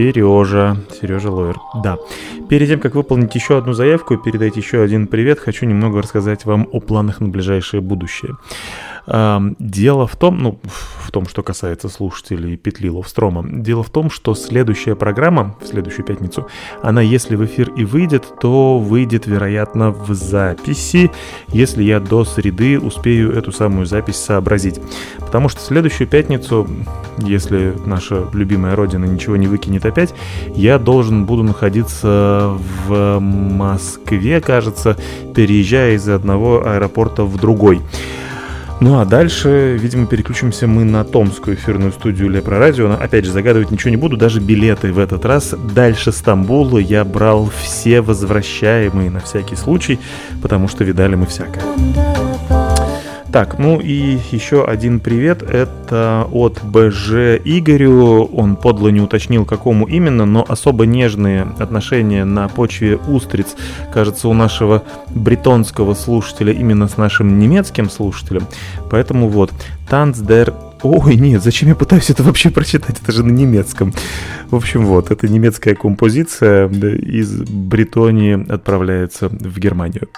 Сережа Лойер. Да. Перед тем, как выполнить еще одну заявку и передать еще один привет, хочу немного рассказать вам о планах на ближайшее будущее. Дело в том, что касается слушателей петли Ловстрома, дело в том, что следующая программа, в следующую пятницу, она, если в эфир и выйдет, то выйдет, вероятно, в записи, если я до среды успею эту самую запись сообразить. Потому что в следующую пятницу, если наша любимая родина ничего не выкинет опять, я буду находиться в Москве, кажется, переезжая из одного аэропорта в другой. Ну а дальше, видимо, переключимся мы на томскую эфирную студию Лепро Радио. Опять же, загадывать ничего не буду, даже билеты в этот раз дальше Стамбула я брал все возвращаемые на всякий случай, потому что видали мы всякое. Так, ну и еще один привет, это от БЖ Игорю, он подло не уточнил, какому именно, но особо нежные отношения на почве устриц, кажется, у нашего бретонского слушателя именно с нашим немецким слушателем, поэтому вот, Tanz der... Ой, нет, зачем я пытаюсь это вообще прочитать, это же на немецком. В общем, вот, это немецкая композиция из Бретонии отправляется в Германию.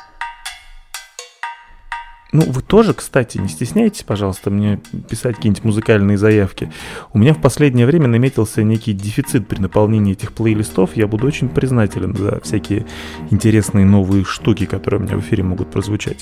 Ну, вы тоже, кстати, не стесняйтесь, пожалуйста, мне писать какие-нибудь музыкальные заявки. У меня в последнее время наметился некий дефицит при наполнении этих плейлистов. Я буду очень признателен за всякие интересные новые штуки, которые у меня в эфире могут прозвучать.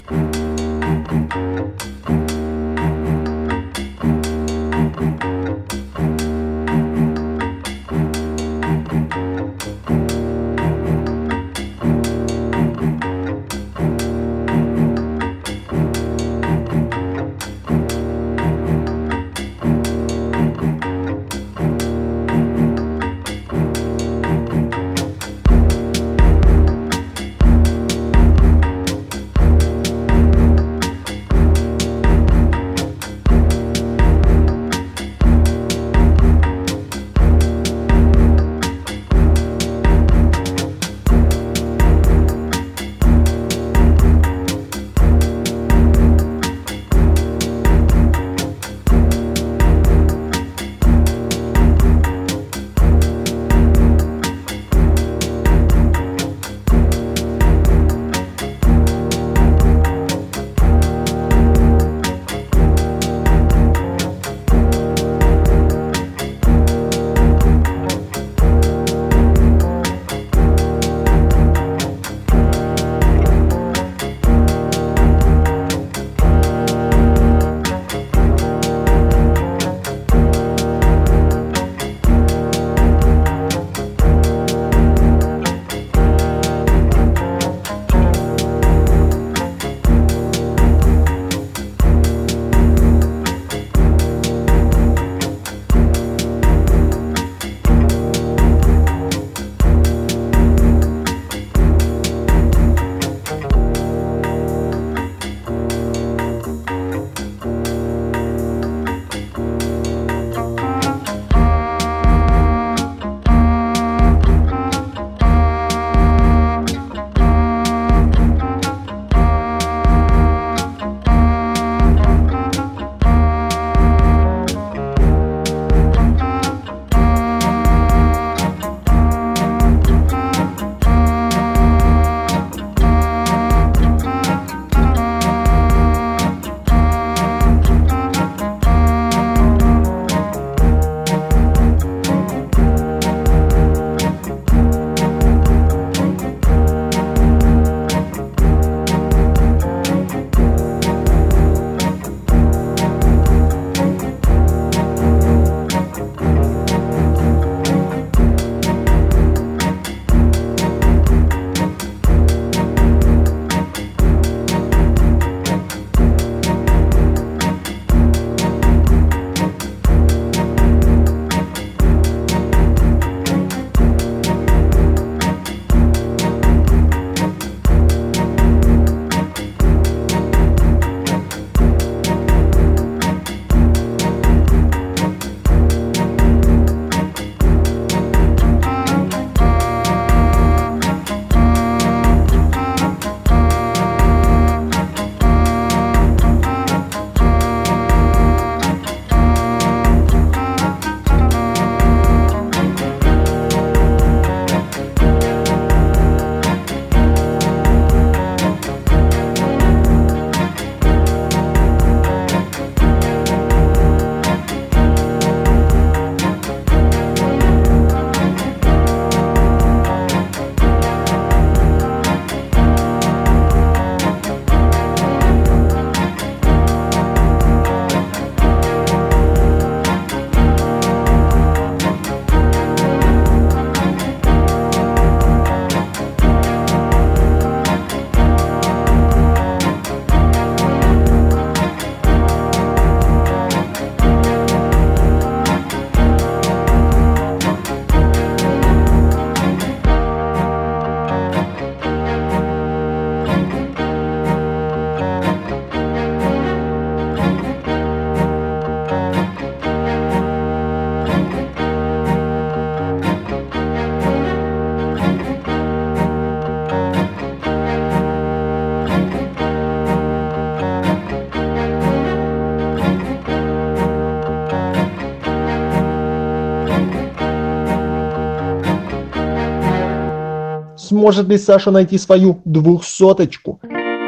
Сможет ли Саша найти свою 200-очку?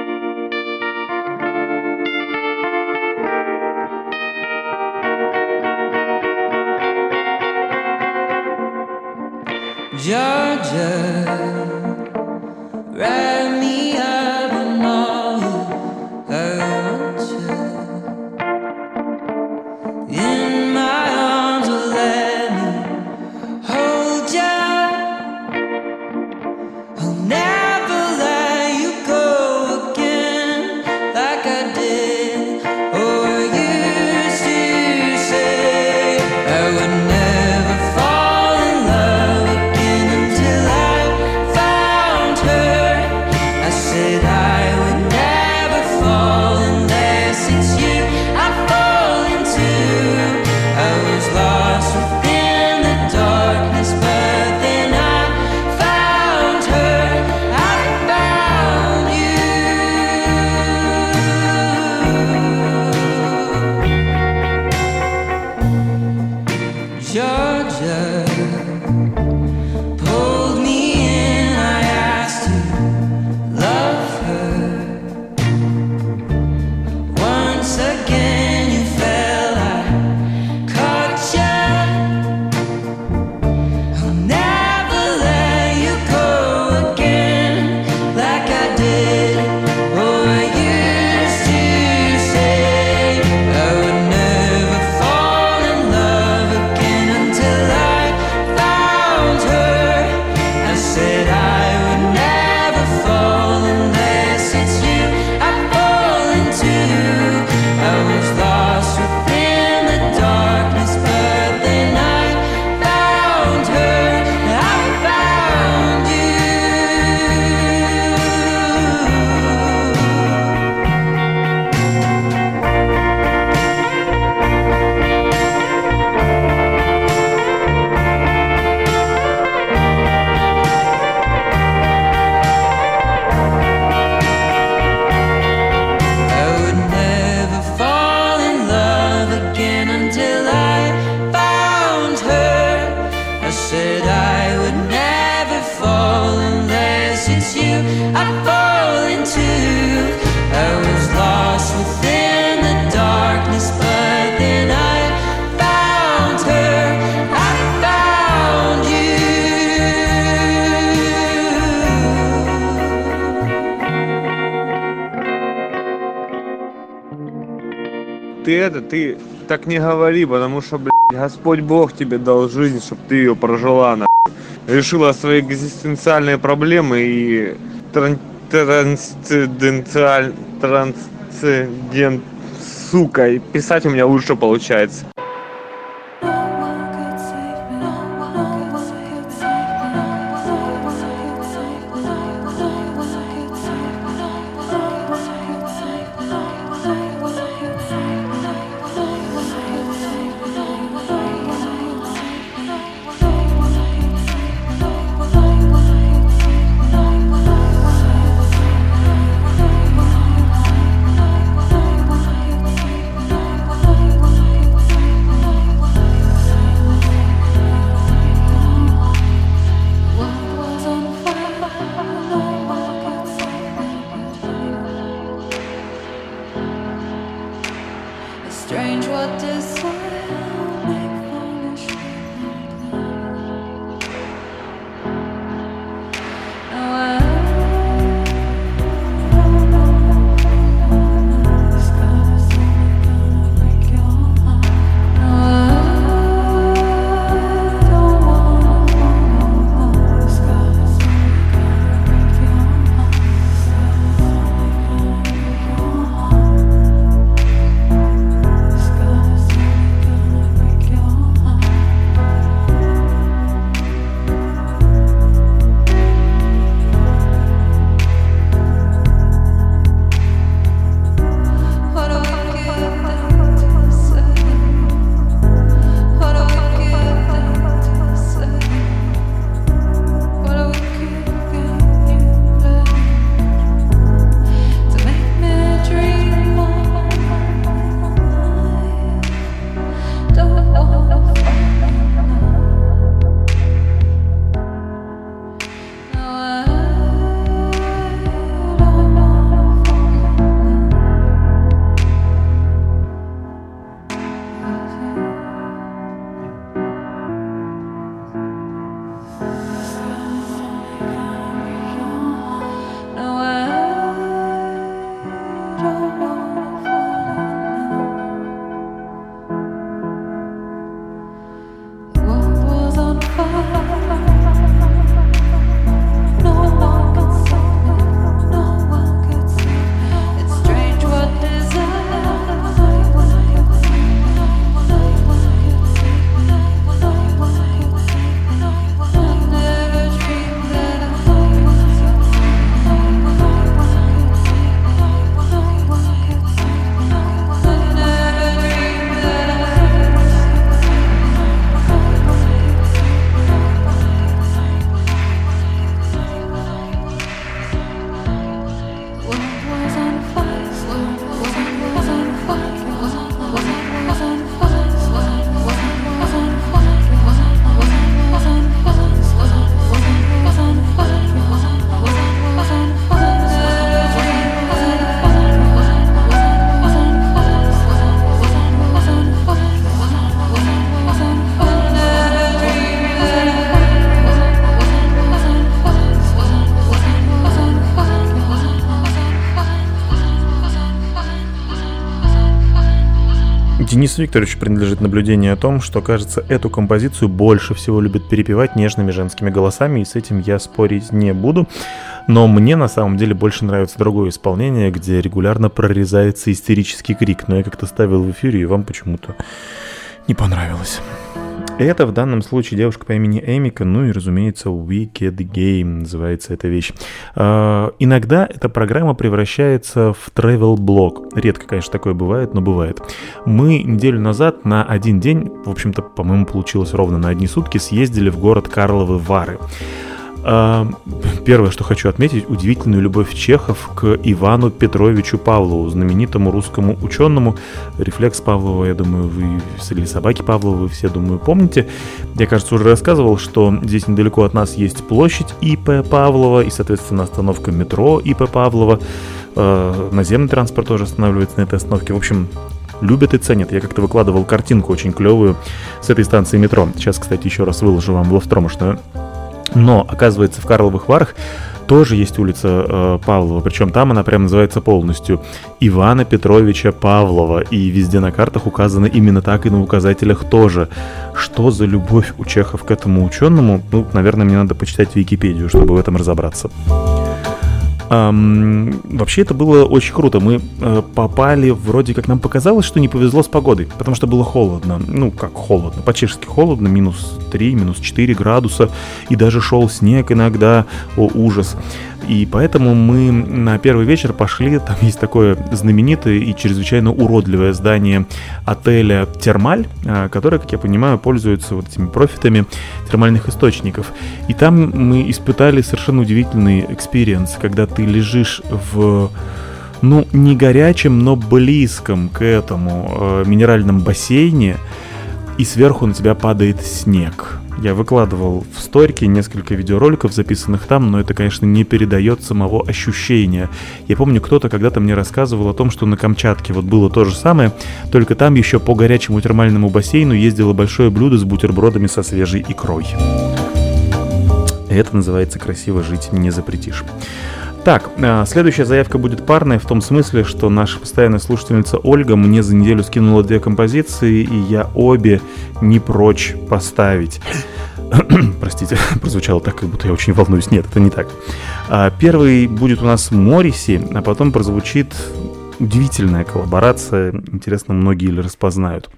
Georgia, wrap me up in all I want you. In my arms, oh, let me hold you. I'll never let you go again like I did. Oh, I used to say I would never fall in love again until I found her. I said I would never fall unless it's you I fall into. I was lost within the darkness, but then I found her. I found you. Georgia pulled me in, I asked to love her. Once again you fell, I caught ya. I'll never let you go again like I did. Oh, I used to say I would never fall in love again until I found her. I said I would never fall unless it's you I fall into. I was lost within the darkness, but then I found her. I found you. I would never fall in love again until I found her. I said I would never fall unless it's you I fall into. I was lost within the darkness, but then I found her. I found you. Ты так не говори, потому что, блядь, Господь Бог тебе дал жизнь, чтобы ты ее прожила, нахуй. Решила свои экзистенциальные проблемы и трансцендент, сука, и писать у меня лучше получается. Денису Викторовичу принадлежит наблюдение о том, что, кажется, эту композицию больше всего любят перепевать нежными женскими голосами, и с этим я спорить не буду. Но мне на самом деле больше нравится другое исполнение, где регулярно прорезается истерический крик, но я как-то ставил в эфире, и вам почему-то не понравилось. Это в данном случае девушка по имени Эмика, ну и, разумеется, Wicked Game называется эта вещь. Иногда эта программа превращается в travel-блог. Редко, конечно, такое бывает, но бывает. Мы неделю назад на один день, в общем-то, по-моему, получилось ровно на одни сутки, съездили в город Карловы Вары. Первое, что хочу отметить, удивительную любовь чехов к Ивану Петровичу Павлову, знаменитому русскому ученому. Рефлекс Павлова, я думаю, вы, или собаки Павлова, вы все, думаю, помните. Я, кажется, уже рассказывал, что здесь недалеко от нас есть площадь И.П. Павлова и, соответственно, остановка метро И.П. Павлова. Наземный транспорт тоже останавливается на этой остановке. В общем, любят и ценят. Я как-то выкладывал картинку очень клевую с этой станции метро. Сейчас, кстати, еще раз выложу вам в ловстромошную. Но, оказывается, в Карловых Варах тоже есть улица Павлова, причем там она прям называется полностью Ивана Петровича Павлова, и везде на картах указано именно так, и на указателях тоже. Что за любовь у чехов к этому ученому? Ну, наверное, мне надо почитать Википедию, чтобы в этом разобраться. Вообще это было очень круто. Мы попали, вроде как нам показалось, что не повезло с погодой, потому что было холодно. Ну, как холодно, по-чешски холодно, -3, -4 градуса, и даже шел снег иногда, о, ужас. И поэтому мы на первый вечер пошли, там есть такое знаменитое и чрезвычайно уродливое здание отеля «Термаль», которое, как я понимаю, пользуется вот этими профитами термальных источников. И там мы испытали совершенно удивительный экспириенс, когда ты лежишь в, ну, не горячем, но близком к этому минеральном бассейне, и сверху на тебя падает снег. Я выкладывал в сторике несколько видеороликов, записанных там, но это, конечно, не передает самого ощущения. Я помню, кто-то когда-то мне рассказывал о том, что на Камчатке вот было то же самое, только там еще по горячему термальному бассейну ездило большое блюдо с бутербродами со свежей икрой. Это называется «Красиво жить не запретишь». Так, следующая заявка будет парная, в том смысле, что наша постоянная слушательница Ольга мне за неделю скинула 2 композиции, и я обе не прочь поставить. Простите, прозвучало так, как будто я очень волнуюсь. Нет, это не так. Первый будет у нас Морриси, а потом прозвучит удивительная коллаборация. Интересно, многие ли распознают.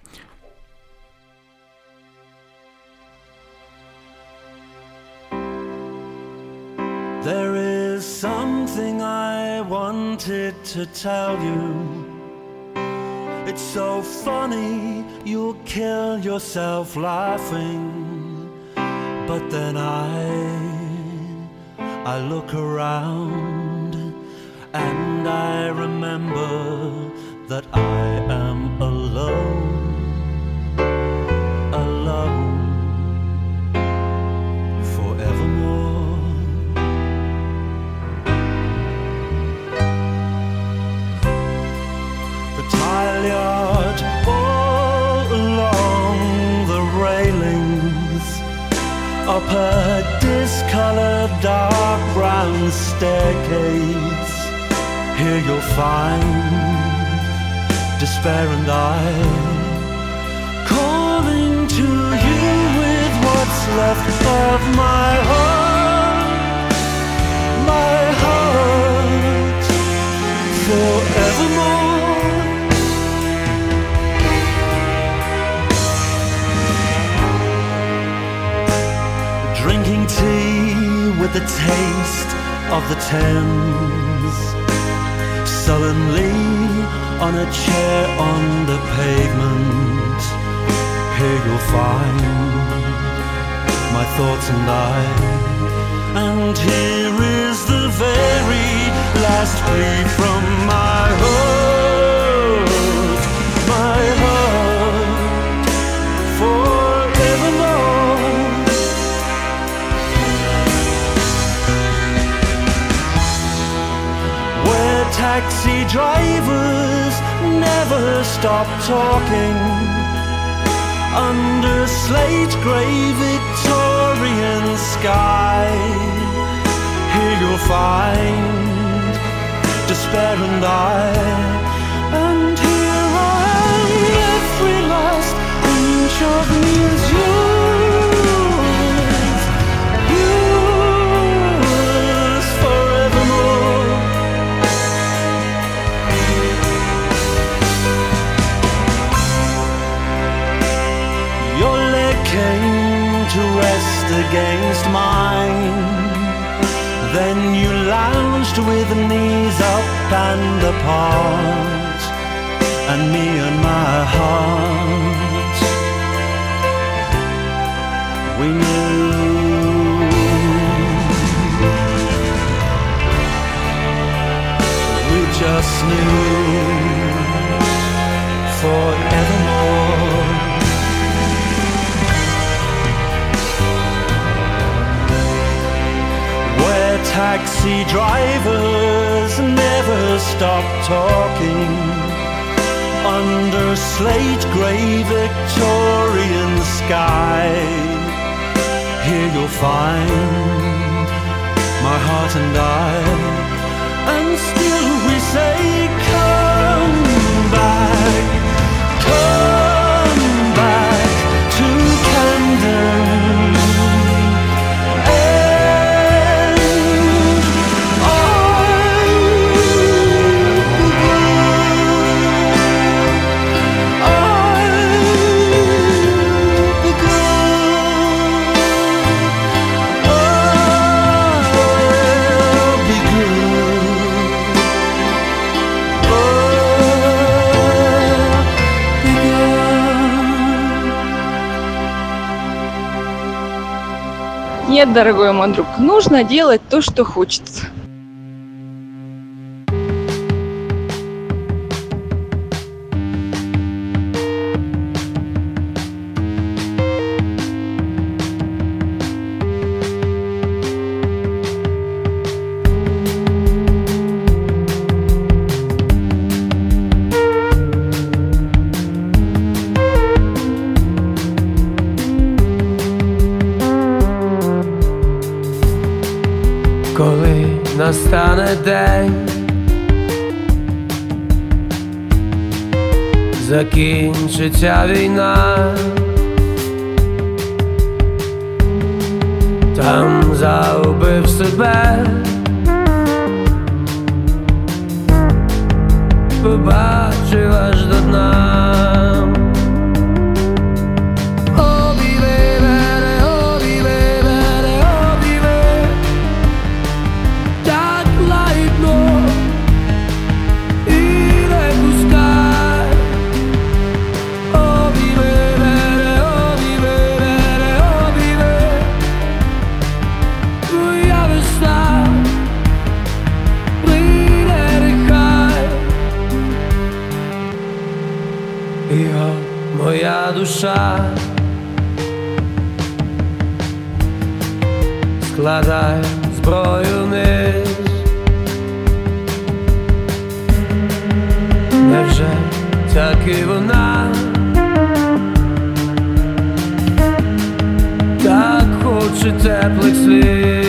Something I wanted to tell you. It's so funny, you'll kill yourself laughing. But then I look around and I remember that I am alone, alone, forevermore. Tile yard, all along the railings, up a discolored dark brown staircase. Here you'll find despair and I calling to you with what's left of my heart, forevermore. Drinking tea with the taste of the Thames, sullenly on a chair on the pavement. Here you'll find my thoughts and and here is the very last plea from my heart, forevermore. Where taxi drivers never stop talking, under slate grey Victorian sky, here you'll find despair and here I am, every of me is yours, yours forevermore. Your leg came to rest against mine. Then you lounged with knees up and apart, and me and my heart, we knew. We just knew forevermore. Where taxi drivers never stop talking, under slate grey Victorian sky, here you'll find my heart and I, and still we say come back to Camden. Нет, дорогой мой друг, нужно делать то, что хочется. Коли настане день, закінчиться війна, там загубив себе, побачив аж до дна. Моя душа складає зброю вниз. Невже так і вона так хоче теплих слів?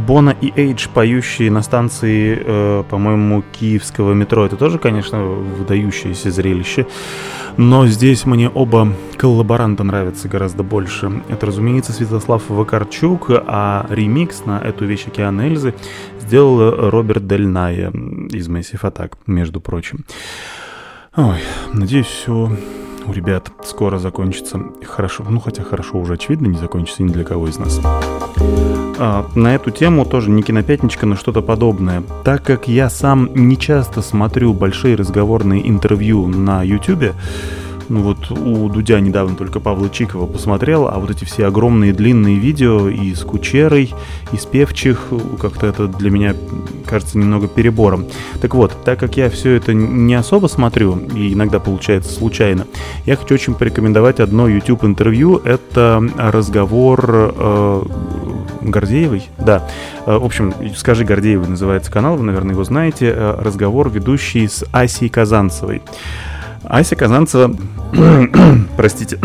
Бона и Эйдж, поющие на станции, по-моему, киевского метро, это тоже, конечно, выдающееся зрелище. Но здесь мне оба коллаборанта нравятся гораздо больше. Это, разумеется, Святослав Вакарчук, а ремикс на эту вещь «Океан Эльзы» сделал Роберт Дель Найе из Massive Attack, между прочим. Ой, надеюсь, все у ребят скоро закончится хорошо. Ну, хотя хорошо уже, очевидно, не закончится ни для кого из нас. На эту тему тоже не кинопятничка, но что-то подобное. Так как я сам не часто смотрю большие разговорные интервью на YouTube, ну вот у Дудя недавно только Павла Чикова посмотрел, а вот эти все огромные длинные видео и с Кучерой, и с Певчих, как-то это для меня кажется немного перебором. Так вот, так как я все это не особо смотрю, и иногда получается случайно, я хочу очень порекомендовать одно YouTube-интервью. Это разговор Гордеевой, да. В общем, «Скажи Гордеевой» называется канал, вы, наверное, его знаете. Разговор ведущий с Асей Казанцевой. Ася Казанцева, простите,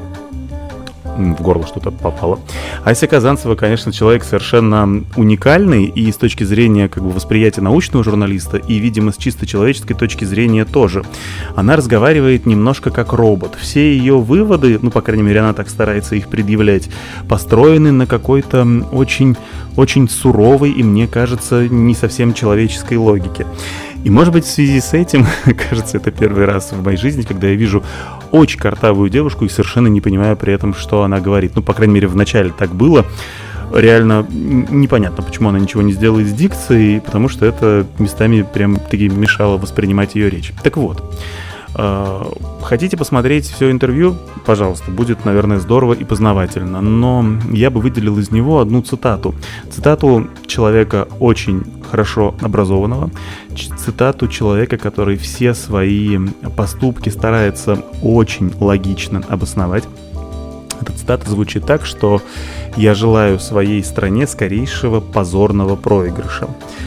в горло что-то попало. Ася Казанцева, конечно, человек совершенно уникальный и с точки зрения как бы восприятия научного журналиста, и, видимо, с чисто человеческой точки зрения тоже. Она разговаривает немножко как робот. Все ее выводы, ну, по крайней мере, она так старается их предъявлять, построены на какой-то очень, очень суровой и, мне кажется, не совсем человеческой логике. И, может быть, в связи с этим, кажется, это первый раз в моей жизни, когда я вижу очень картавую девушку и совершенно не понимаю при этом, что она говорит. Ну, по крайней мере, в начале так было. Реально непонятно, почему она ничего не сделает с дикцией, потому что это местами прям-таки мешало воспринимать ее речь. Так вот, хотите посмотреть все интервью? Пожалуйста, будет, наверное, здорово и познавательно. Но я бы выделил из него одну цитату. Цитату человека очень хорошо образованного. Цитату человека, который все свои поступки старается очень логично обосновать. Эта цитата звучит так, что «Я желаю своей стране скорейшего позорного проигрыша».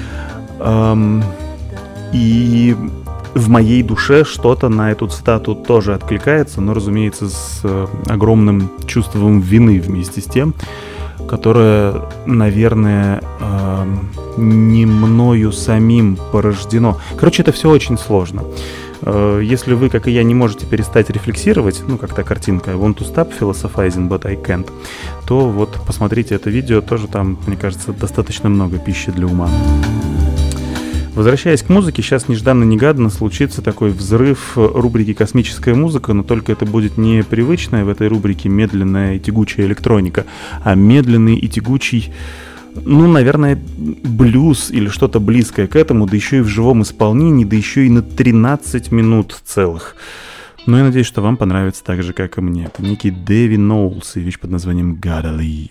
И в моей душе что-то на эту цитату тоже откликается, но, разумеется, с огромным чувством вины вместе с тем, которое, наверное, не мною самим порождено. Короче, это все очень сложно. Если вы, как и я, не можете перестать рефлексировать, ну, как та картинка «I want to stop philosophizing, but I can't», то вот посмотрите это видео, тоже там, мне кажется, достаточно много пищи для ума. Возвращаясь к музыке, сейчас нежданно-негаданно случится такой взрыв рубрики «Космическая музыка», но только это будет не привычная в этой рубрике медленная и тягучая электроника, а медленный и тягучий, ну, наверное, блюз или что-то близкое к этому, да еще и в живом исполнении, да еще и на 13 минут целых. Но я надеюсь, что вам понравится так же, как и мне. Это некий Дэви Ноулс и вещь под названием «Gotta Leave».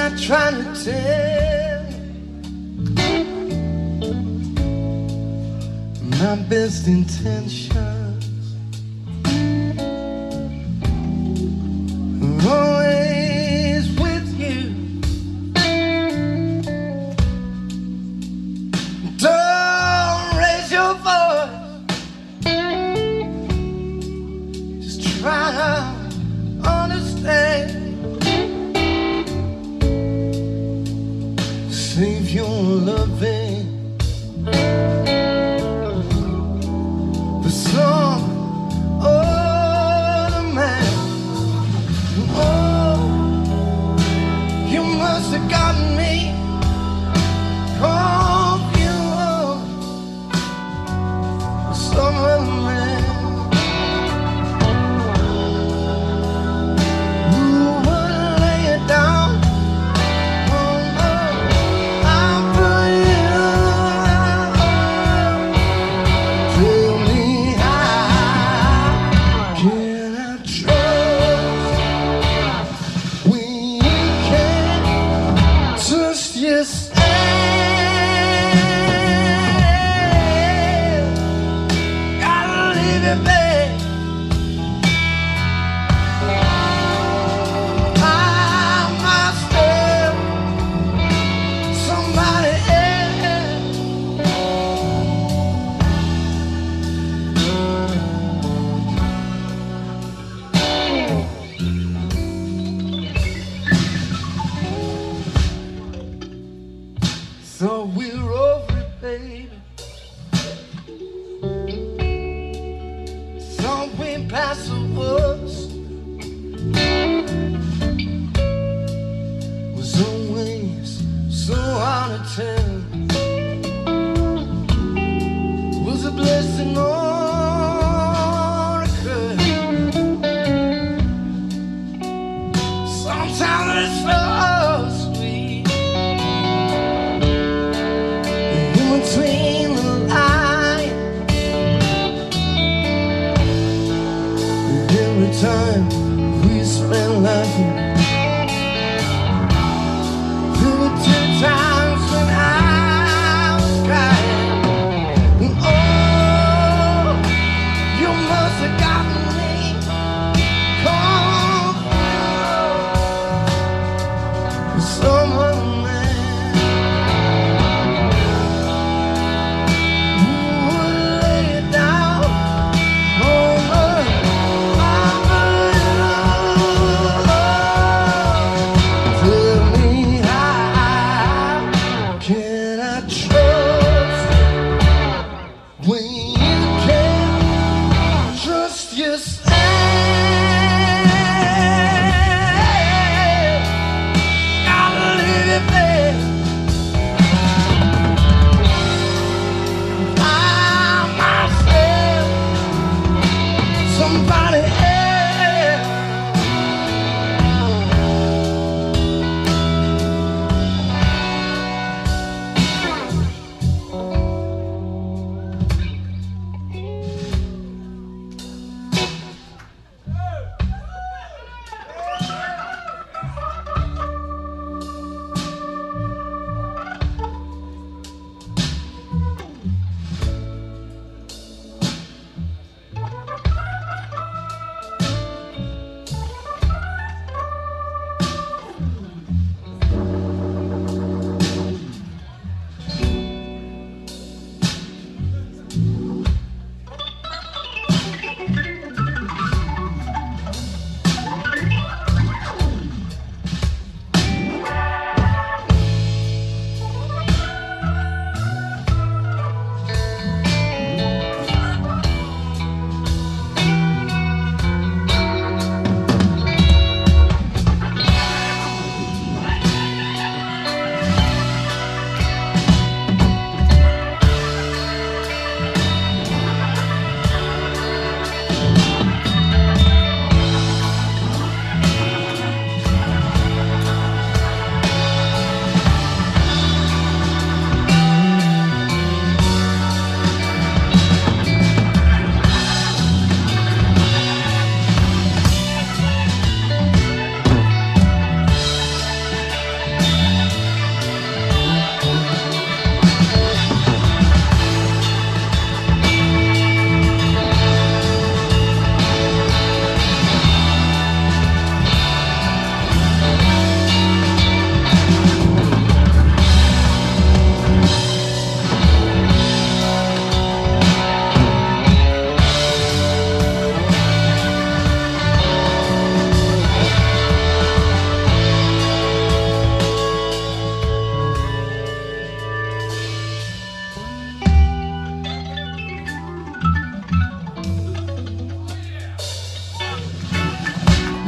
not trying to tell my best intentions are always with you. Don't raise your voice, just try to understand. Save your loving for some other man. Oh, you must have gotten me confused with some other man. Who would lay it down? So we're over it, baby. So we pass the worst. Was always so hard to tell. Was a blessing or a curse. Sometimes it's so sweet. Between the lines, every time we spend laughing, there were 2 times when I was crying. And oh, you must have gotten me confused with someone.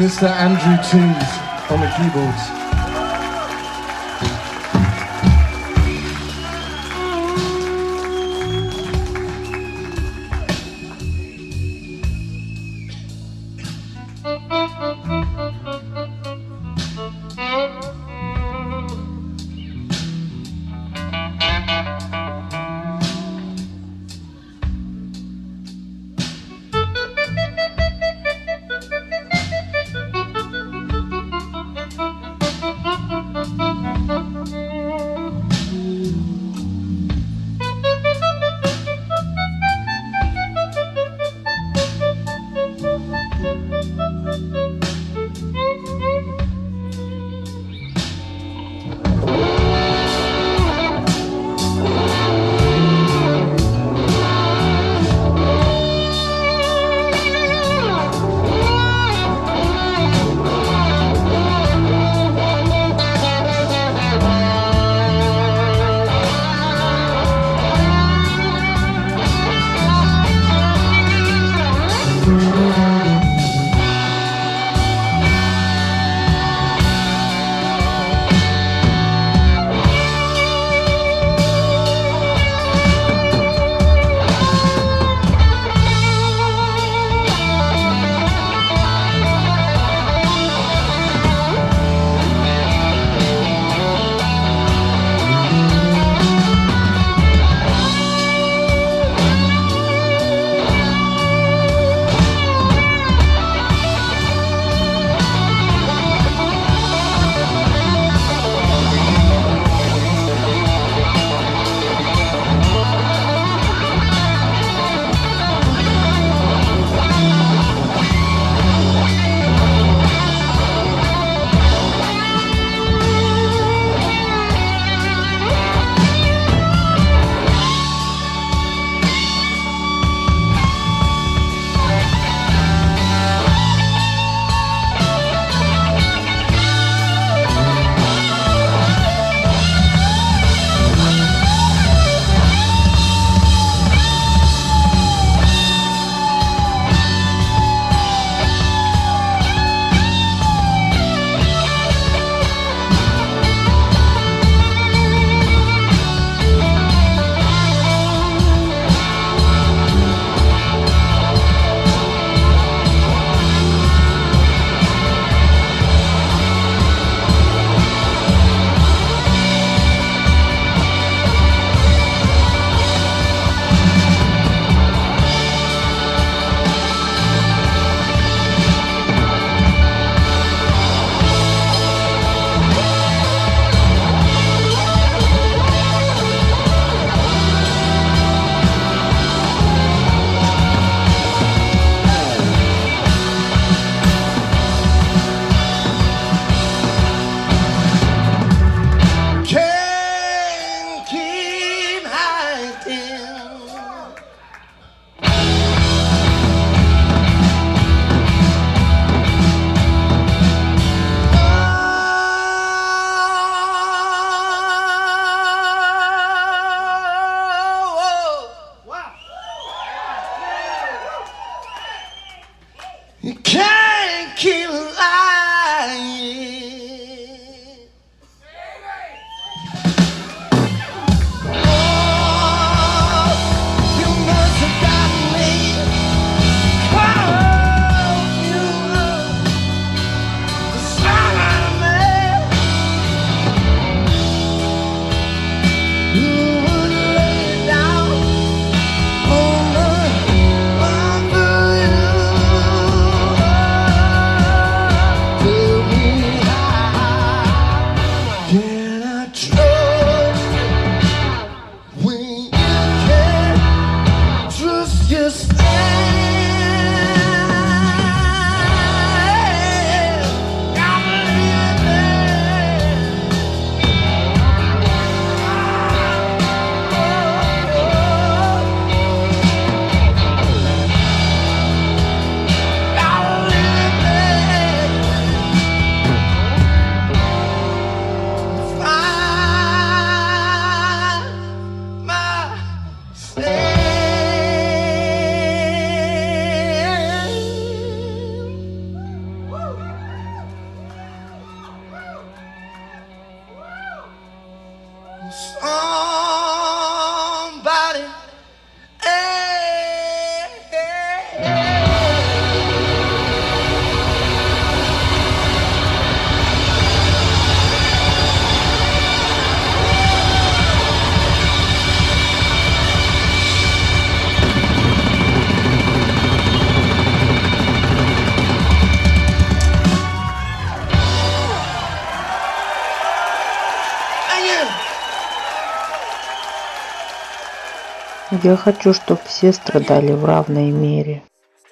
Mr. Andrew Toombs on the keyboards. You can't keep lying. Oh, you must have got me. Oh, you the son of me. You would lay down on the under you. Я хочу, чтобы все страдали в равной мере.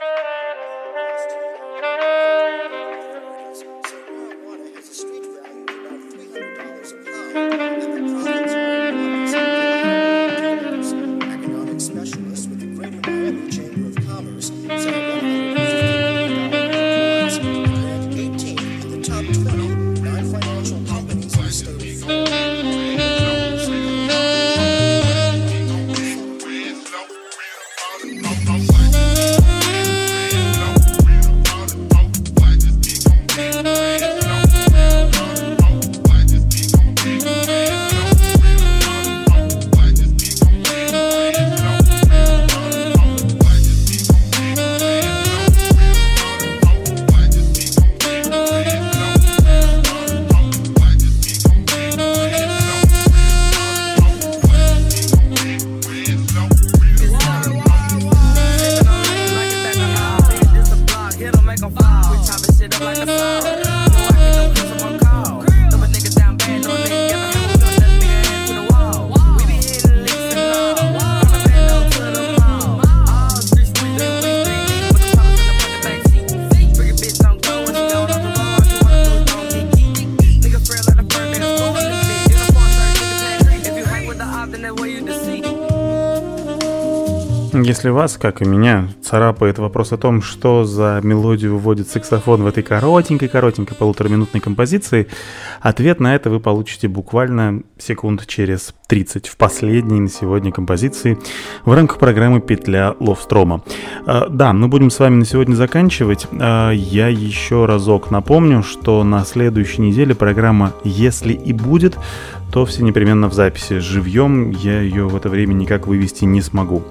Если вас, как и меня, царапает вопрос о том, что за мелодию выводит саксофон в этой коротенькой полутораминутной композиции, ответ на это вы получите буквально секунд через 30 в последней на сегодня композиции в рамках программы «Петля Ловстрома». Да, мы будем с вами на сегодня заканчивать. Я еще разок напомню, что на следующей неделе программа «Если и будет», то все непременно в записи. Живьем я ее в это время никак вывести не смогу.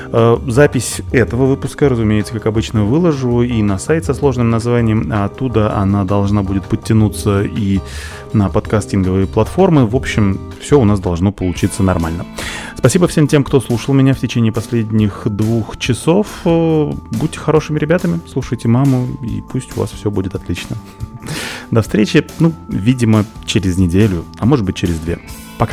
Запись этого выпуска, разумеется, как обычно, выложу и на сайт со сложным названием, а оттуда она должна будет подтянуться и на подкастинговые платформы. В общем, все у нас должно получиться нормально. Спасибо всем тем, кто слушал меня в течение последних 2 часов. Будьте хорошими ребятами, слушайте маму, и пусть у вас все будет отлично. До встречи, видимо, через неделю, а может быть через 2. Пока.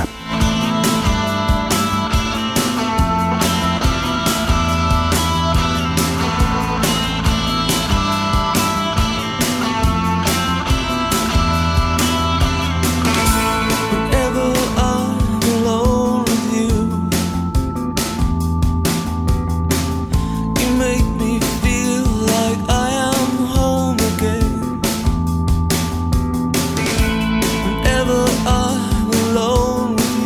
Whenever I'm alone with you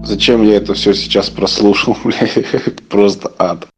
Зачем я это все сейчас прослушал, бля? Просто ад.